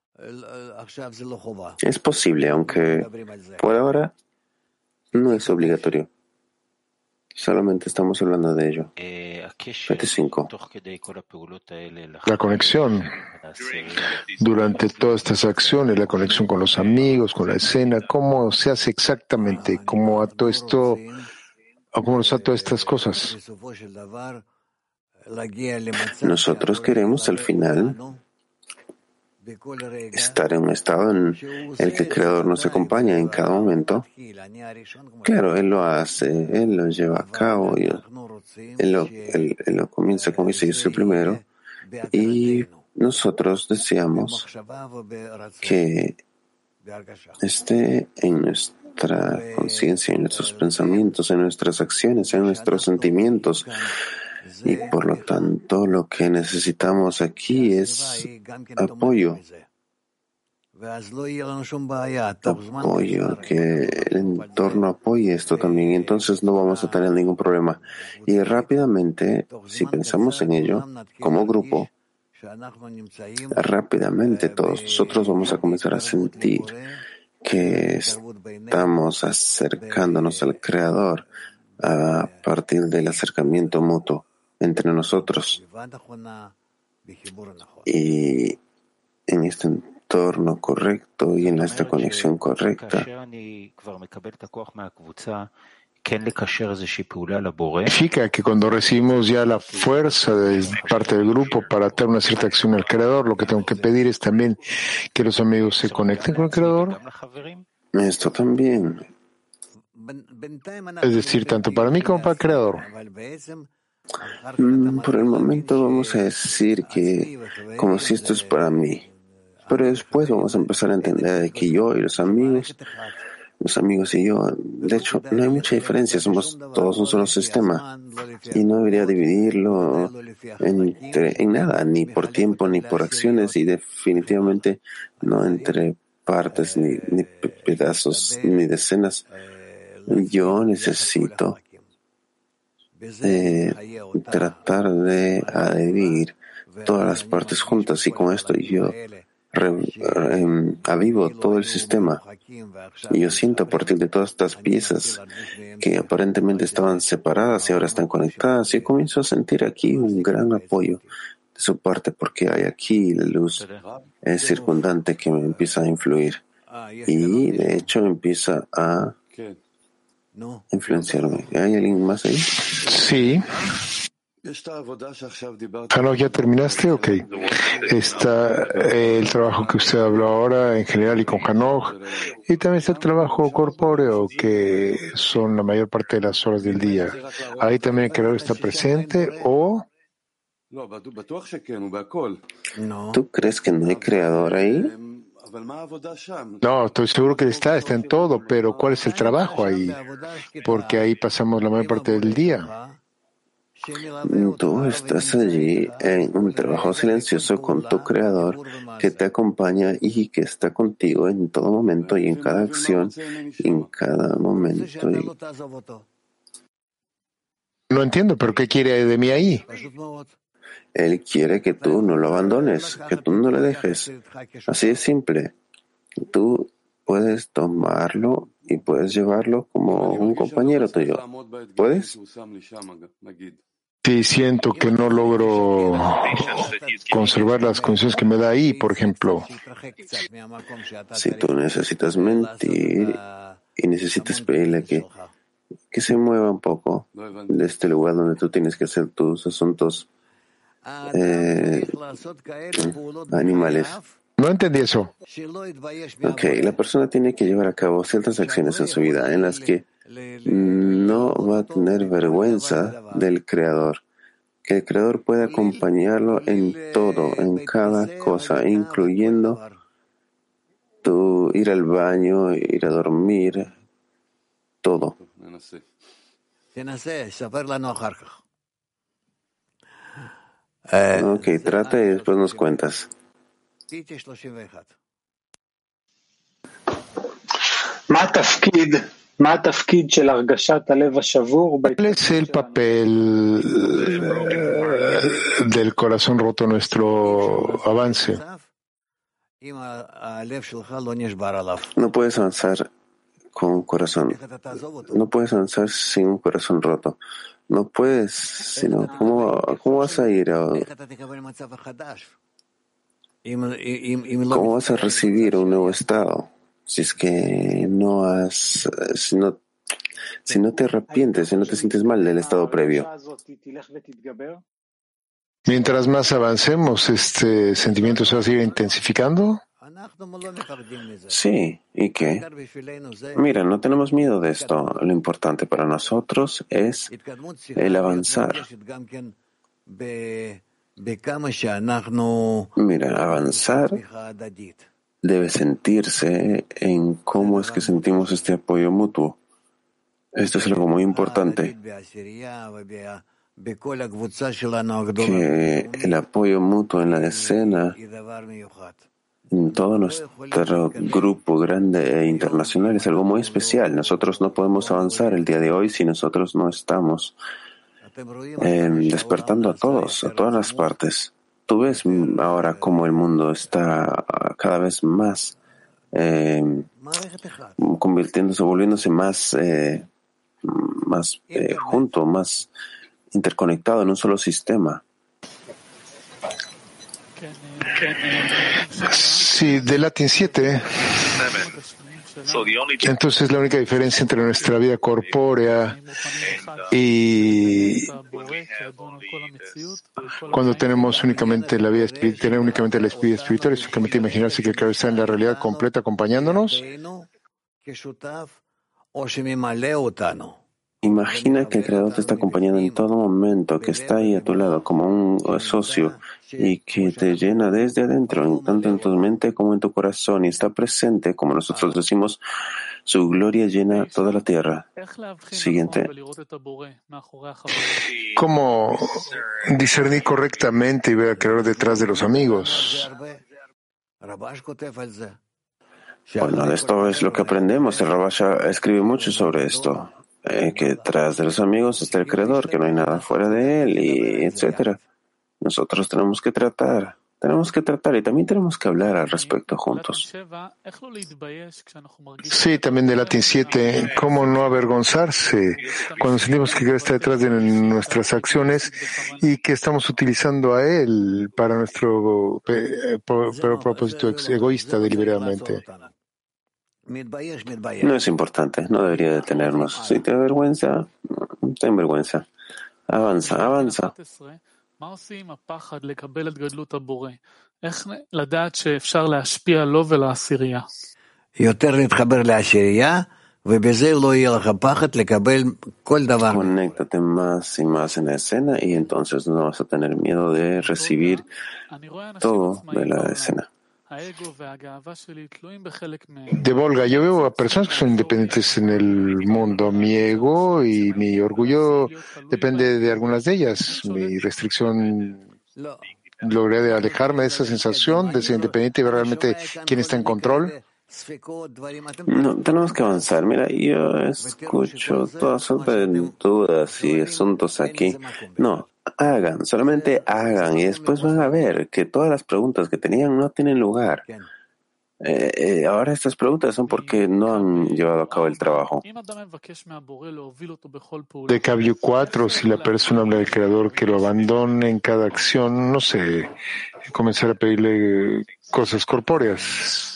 Es posible, aunque por ahora no es obligatorio. Solamente estamos hablando de ello. PT5. La conexión durante todas estas acciones, la conexión con los amigos, con la escena, ¿cómo se hace exactamente? ¿Cómo ato esto, o cómo nos ato estas cosas? Nosotros queremos al final estar en un estado en el que el Creador nos acompaña en cada momento. Claro, Él lo hace, Él lo lleva a cabo, Él lo comienza, como dice, yo soy el primero, y nosotros deseamos que esté en nuestra conciencia, en nuestros pensamientos, en nuestras acciones, en nuestros sentimientos. Y por lo tanto, lo que necesitamos aquí es apoyo. Apoyo, que el entorno apoye esto también. Entonces no vamos a tener ningún problema. Y rápidamente, si pensamos en ello, como grupo, rápidamente todos nosotros vamos a comenzar a sentir que estamos acercándonos al Creador a partir del acercamiento mutuo entre nosotros. Y en este entorno correcto y en esta conexión correcta, Significa que cuando recibimos ya la fuerza de parte del grupo para hacer una cierta acción al Creador, lo que tengo que pedir es también que los amigos se conecten con el Creador. esto también. Es decir, tanto para mí como para el Creador. Por el momento vamos a decir que como si esto es para mí, pero después vamos a empezar a entender de que yo y los amigos y yo, de hecho, no hay mucha diferencia, somos todos un solo sistema y no debería dividirlo en nada, ni por tiempo ni por acciones y definitivamente no entre partes ni pedazos ni decenas. Yo necesito tratar de adherir todas las partes juntas y con esto yo avivo todo el sistema y yo siento a partir de todas estas piezas que aparentemente estaban separadas y ahora están conectadas y comienzo a sentir aquí un gran apoyo de su parte porque hay aquí la luz circundante que me empieza a influir y de hecho empieza a influenciarme. ¿Hay alguien más ahí? Sí. Hanok, ¿ya terminaste? Ok. Está el trabajo que usted habló ahora en general y con Hanok. Y también está el trabajo corpóreo, que son la mayor parte de las horas del día. Ahí también el Creador está presente o... ¿Tú crees que no hay Creador ahí? No, estoy seguro que está en todo, pero ¿cuál es el trabajo ahí? Porque ahí pasamos la mayor parte del día. Tú estás allí en un trabajo silencioso con tu Creador que te acompaña y que está contigo en todo momento y en cada acción, y en cada momento. No entiendo, pero ¿qué quiere de mí ahí? Él quiere que tú no lo abandones, que tú no le dejes. Así de simple. Tú puedes tomarlo y puedes llevarlo como un compañero tuyo. ¿Puedes? Sí, siento que no logro conservar las condiciones que me da ahí, por ejemplo. Si tú necesitas mentir y necesitas pedirle que se mueva un poco de este lugar donde tú tienes que hacer tus asuntos animales. No entendí eso. Ok, la persona tiene que llevar a cabo ciertas acciones en su vida en las que no va a tener vergüenza del Creador, que el Creador pueda acompañarlo en todo, en cada cosa, incluyendo tu ir al baño, ir a dormir, todo. Ok, trata y después nos cuentas. ¿Cuál es el papel del corazón roto en nuestro avance? No puedes avanzar con un corazón. No puedes avanzar sin un corazón roto. No puedes, sino ¿cómo vas a ir? ¿Cómo vas a recibir un nuevo estado? Si es que si no te arrepientes, si no te sientes mal del estado previo. Mientras más avancemos, este sentimiento se va a seguir intensificando. Sí, ¿y qué? Mira, no tenemos miedo de esto. Lo importante para nosotros es el avanzar. Mira, avanzar debe sentirse en cómo es que sentimos este apoyo mutuo. Esto es algo muy importante. Que el apoyo mutuo en la escena, en todo nuestro grupo grande e internacional, es algo muy especial. Nosotros no podemos avanzar el día de hoy si nosotros no estamos despertando a todos, a todas las partes. Tú ves ahora cómo el mundo está cada vez más volviéndose más junto, más interconectado en un solo sistema. Sí, de Latin 7. Entonces la única diferencia entre nuestra vida corpórea y cuando tenemos únicamente la vida espiritual, tener únicamente la vida espiritual es únicamente imaginarse que el Creador está en la realidad completa acompañándonos. Imagina que el Creador te está acompañando en todo momento, que está ahí a tu lado como un socio y que te llena desde adentro, tanto en tu mente como en tu corazón, y está presente, como nosotros decimos, su gloria llena toda la tierra. Siguiente. ¿Cómo discernir correctamente y ver al Creador detrás de los amigos? Bueno, esto es lo que aprendemos. El Rabasha escribe mucho sobre esto. Que detrás de los amigos está el Creador, que no hay nada fuera de él, y etcétera. Nosotros tenemos que tratar y también tenemos que hablar al respecto juntos. Sí, también de Latin 7, ¿cómo no avergonzarse cuando sentimos que Dios está detrás de nuestras acciones y que estamos utilizando a Él para nuestro propósito egoísta deliberadamente? No es importante, no debería detenernos. Si te da vergüenza, ten vergüenza. Avanza. Conéctate más y más en la escena y entonces no vas a tener miedo de recibir todo de la escena. De Volga, yo veo a personas que son independientes en el mundo. Mi ego y mi orgullo depende de algunas de ellas. Mi restricción logré alejarme de esa sensación de ser independiente y ver realmente quién está en control. No, tenemos que avanzar. Mira, yo escucho toda sorte de dudas y asuntos aquí. No, solamente hagan y después van a ver que todas las preguntas que tenían no tienen lugar. Ahora estas preguntas son porque no han llevado a cabo el trabajo. De Kavyu 4, si la persona habla del Creador que lo abandone en cada acción, no sé, comenzar a pedirle cosas corpóreas.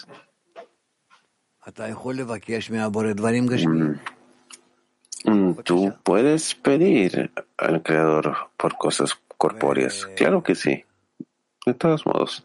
Tú puedes pedir al Creador por cosas corpóreas. Claro que sí. De todos modos.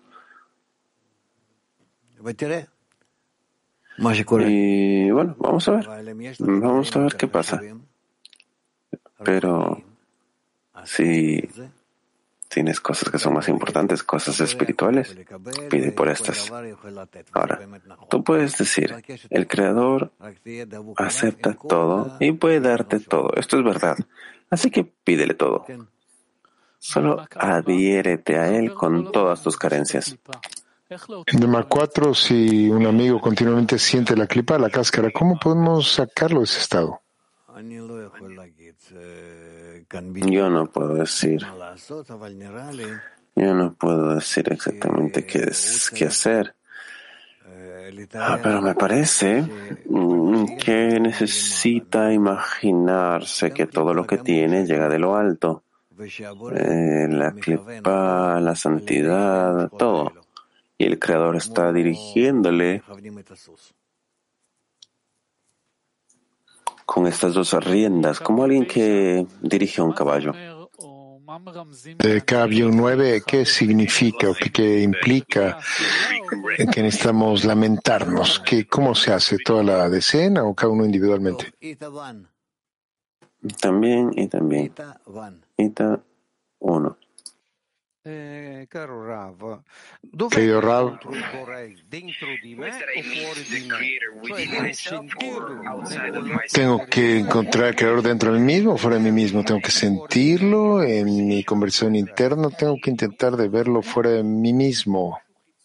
Y bueno, vamos a ver. Vamos a ver qué pasa. Pero si tienes cosas que son más importantes, cosas espirituales, pide por estas. Ahora, tú puedes decir, el Creador acepta todo y puede darte todo. Esto es verdad. Así que pídele todo. Solo adhiérete a Él con todas tus carencias. Tema 4. Si un amigo continuamente siente la clipa, la cáscara, ¿cómo podemos sacarlo de ese estado? Yo no puedo decir exactamente qué hacer. Pero me parece que necesita imaginarse que todo lo que tiene llega de lo alto. La clipa, la santidad, todo. Y el Creador está dirigiéndole con estas dos riendas, como alguien que dirige un caballo. Cambio 9, ¿qué significa o qué implica que necesitamos lamentarnos? ¿Cómo se hace? ¿Toda la decena o cada uno individualmente? También. Ita 1. Querido Rav, ¿tengo que encontrar al Creador dentro de mí mismo o fuera de mí mismo? ¿Tengo que sentirlo en mi conversación interna? ¿Tengo que intentar de verlo fuera de mí mismo?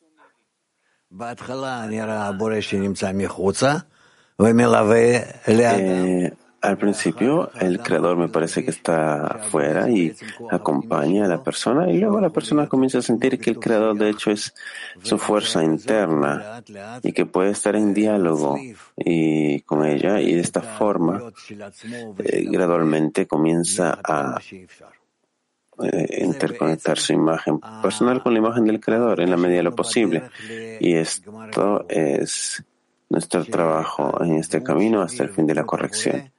Al principio, el Creador me parece que está afuera y acompaña a la persona, y luego la persona comienza a sentir que el Creador, de hecho, es su fuerza interna y que puede estar en diálogo y con ella, y de esta forma, gradualmente comienza a interconectar su imagen personal con la imagen del Creador en la medida de lo posible. Y esto es nuestro trabajo en este camino hasta el fin de la corrección.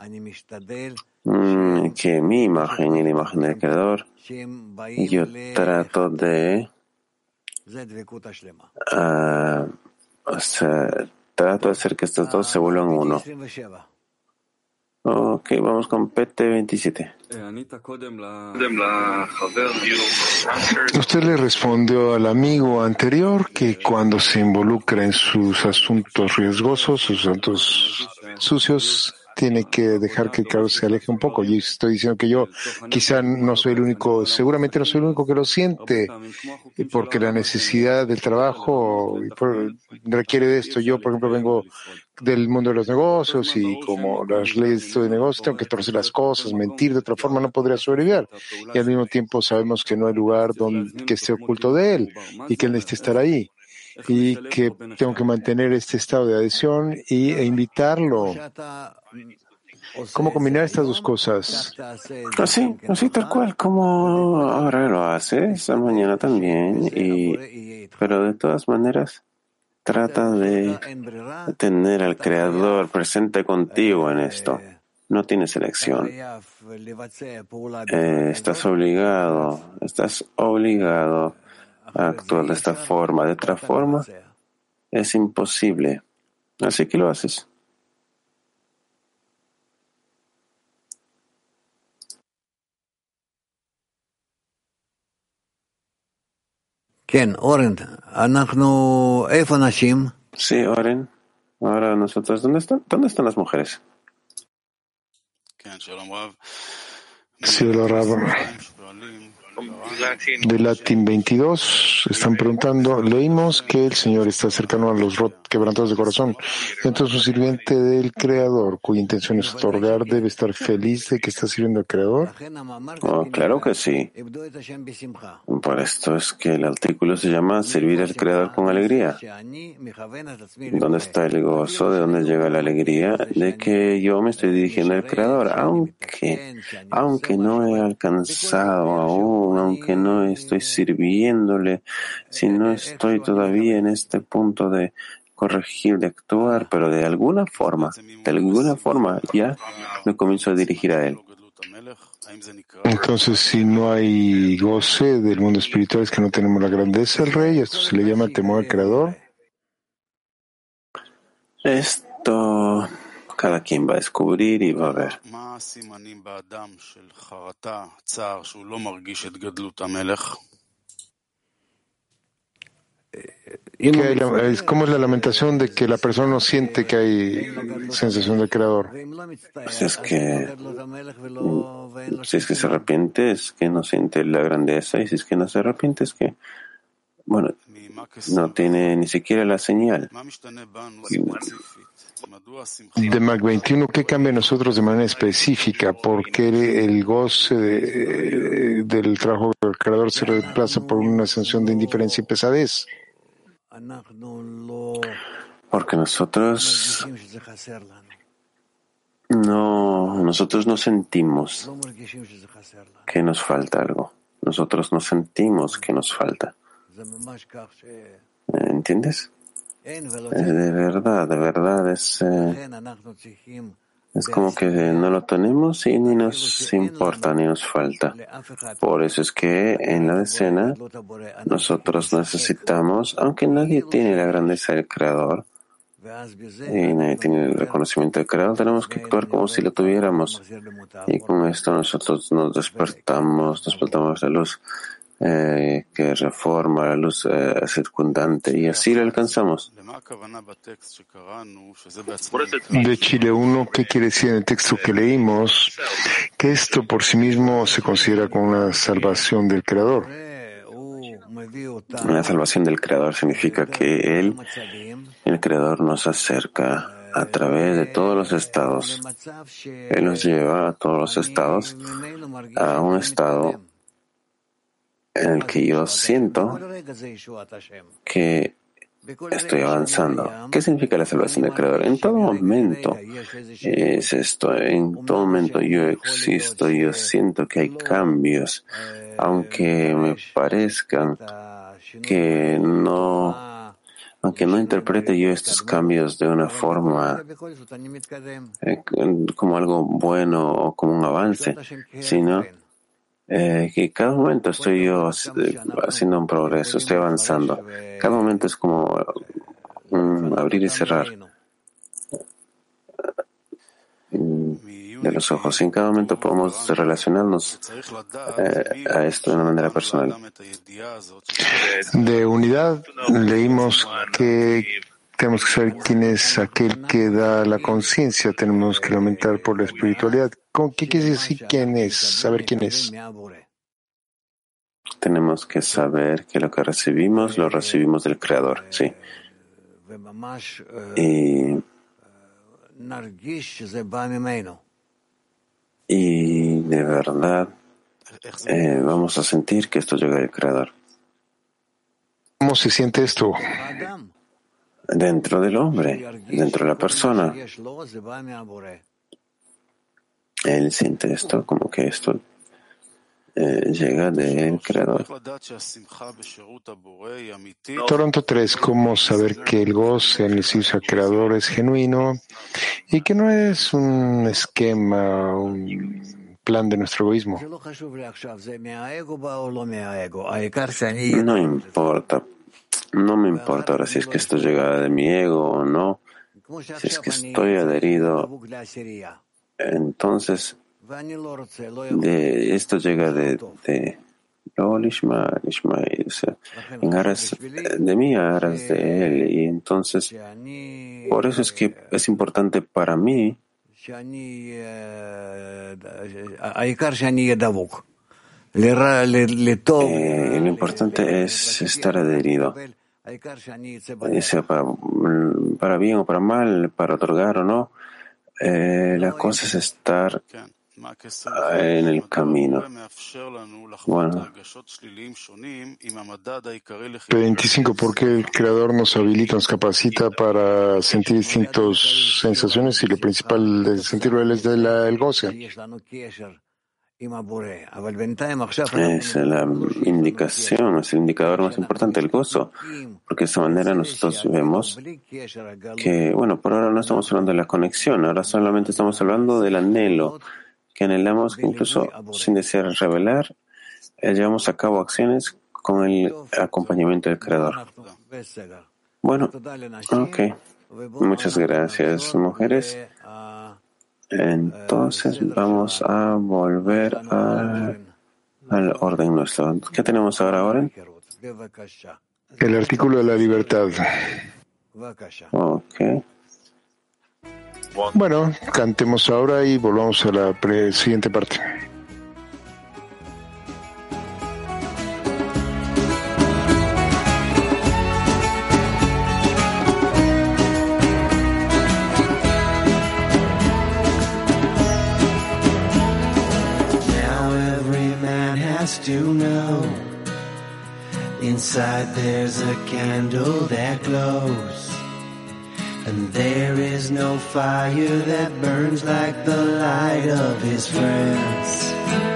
Que mi imagen y la imagen del Creador, yo trato de hacer que estos dos se vuelvan uno. Ok, vamos con PT27. Usted le respondió al amigo anterior que cuando se involucra en sus asuntos riesgosos, sus asuntos sucios, tiene que dejar que el Creador se aleje un poco. Y estoy diciendo que yo quizá no soy el único, seguramente no soy el único que lo siente, porque la necesidad del trabajo requiere de esto. Yo, por ejemplo, vengo del mundo de los negocios y como las leyes de negocio, tengo que torcer las cosas, mentir, de otra forma no podría sobrevivir. Y al mismo tiempo sabemos que no hay lugar que esté oculto de él y que él necesita estar ahí. Y que tengo que mantener este estado de adhesión e invitarlo. ¿Cómo combinar estas dos cosas? Así tal cual, como ahora lo haces, mañana también, pero de todas maneras trata de tener al Creador presente contigo en esto. No tienes elección. Estás obligado a actuar de esta forma. De otra forma, es imposible. Así que lo haces. Sí, Oren. Ahora nosotros, ¿dónde están las mujeres? Sí, hola, Rav. De Latin 22 están preguntando, leímos que el Señor está cercano a los quebrantados de corazón. Entonces un sirviente del Creador, cuya intención es otorgar, debe estar feliz de que está sirviendo al Creador. Oh, claro que sí. Por esto es que el artículo se llama servir al Creador con alegría. ¿Dónde está el gozo? ¿De dónde llega la alegría? De que yo me estoy dirigiendo al Creador, aunque no he alcanzado aún, aunque no estoy sirviéndole, si no estoy todavía en este punto de corregir, de actuar, pero de alguna forma ya me comienzo a dirigir a Él. Entonces, si no hay goce del mundo espiritual, es que no tenemos la grandeza del Rey. ¿Esto se le llama temor al Creador? Esto Cada quien va a descubrir y va a ver. ¿Cómo es la lamentación de que la persona no siente que hay sensación del creador? Si es que se arrepiente, es que no siente la grandeza, y si es que no se arrepiente, es que, bueno, no tiene ni siquiera la señal. De Mac 21, ¿qué cambia en nosotros de manera específica? ¿Por qué el goce del trabajo del creador se reemplaza por una sensación de indiferencia y pesadez? Porque nosotros no sentimos que nos falta algo. Nosotros no sentimos que nos falta. ¿Entiendes? De verdad, es como que no lo tenemos y ni nos importa, ni nos falta. Por eso es que en la decena nosotros necesitamos, aunque nadie tiene la grandeza del Creador y nadie tiene el reconocimiento del Creador, tenemos que actuar como si lo tuviéramos. Y con esto nosotros nos despertamos la luz que reforma, la luz circundante, y así lo alcanzamos. De Chile 1, ¿qué quiere decir en el texto que leímos? Que esto por sí mismo se considera como una salvación del Creador. La salvación del Creador significa que el Creador nos acerca a través de todos los estados. Él nos lleva a todos los estados a un estado en el que yo siento que estoy avanzando. ¿Qué significa la salvación del Creador? En todo momento es esto. En todo momento yo existo, yo siento que hay cambios, aunque me parezcan aunque no interprete yo estos cambios de una forma como algo bueno o como un avance, sino que cada momento estoy yo haciendo un progreso, estoy avanzando. Cada momento es como un abrir y cerrar de los ojos. Y en cada momento podemos relacionarnos a esto de una manera personal. De unidad leímos que tenemos que saber quién es aquel que da la conciencia, tenemos que lamentar por la espiritualidad. ¿Qué quiere decir quién es? Saber quién es. Tenemos que saber que lo que recibimos, lo recibimos del Creador, sí. Y de verdad vamos a sentir que esto llega del Creador. ¿Cómo se siente esto? Dentro del hombre, dentro de la persona. Él siente esto como que esto llega del Creador. Toronto 3, ¿cómo saber que el goce en el servicio al Creador es genuino y que no es un esquema, un plan de nuestro egoísmo? No me importa ahora si es que esto llega de mi ego o no, si es que estoy adherido, entonces esto llega de en aras de mí, a aras de él, y entonces por eso es que es importante para mí lo importante es estar adherido, sea para bien o para mal, para otorgar o no. La cosa es estar en el camino. Bueno. 25. ¿Por qué el Creador nos habilita, nos capacita para sentir distintas sensaciones y lo principal de sentirlo él es el goce? Es la indicación, es el indicador más importante, el gozo, porque de esta manera nosotros vemos que, bueno, por ahora no estamos hablando de la conexión, ahora solamente estamos hablando del anhelo, que anhelamos que incluso sin desear revelar, llevamos a cabo acciones con el acompañamiento del Creador. Bueno, ok. Muchas gracias, mujeres. Entonces vamos a volver al orden nuestro. ¿Qué tenemos ahora, Oren? El artículo de la libertad. Ok. Bueno, cantemos ahora y volvamos a la siguiente parte. To know inside there's a candle that glows, and there is no fire that burns like the light of his friends.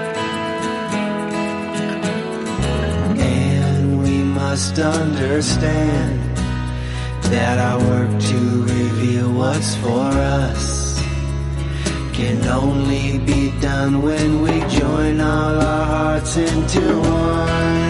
And we must understand that our work to reveal what's for us can only be done when we join all our hearts into one.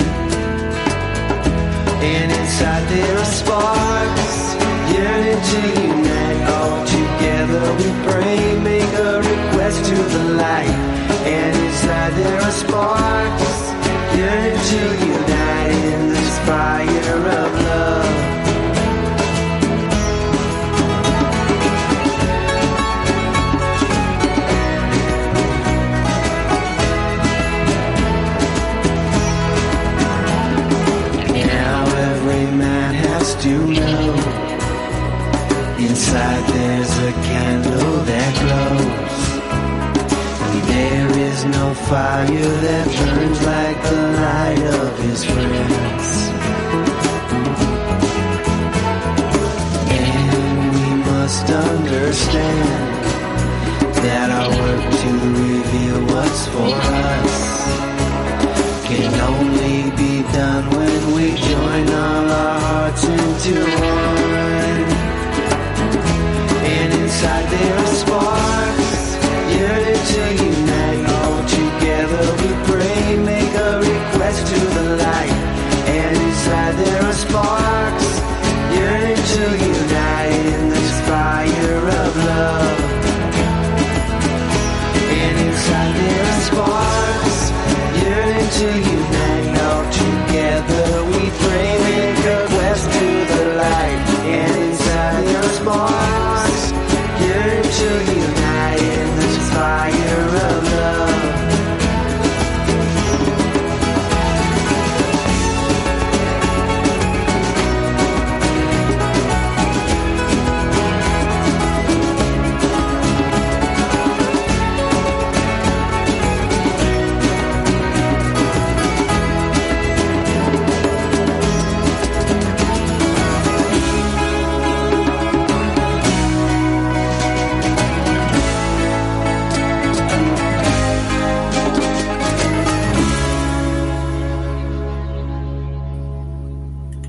And inside there are sparks yearning to unite. All together we pray, make a request to the light. And inside there are sparks yearning to unite in this fire of love. To know inside there's a candle that glows, and there is no fire that burns like the light of his friends. And we must understand that our work to reveal what's for us can only be done when we join all our hearts into one. And inside there are sparks yearning to unite. All together we pray, make a request to the light. And inside there are sparks yearning to unite in this fire of love. And inside there are sparks yearning to unite. All together we pray, make a quest to the light. And inside your spark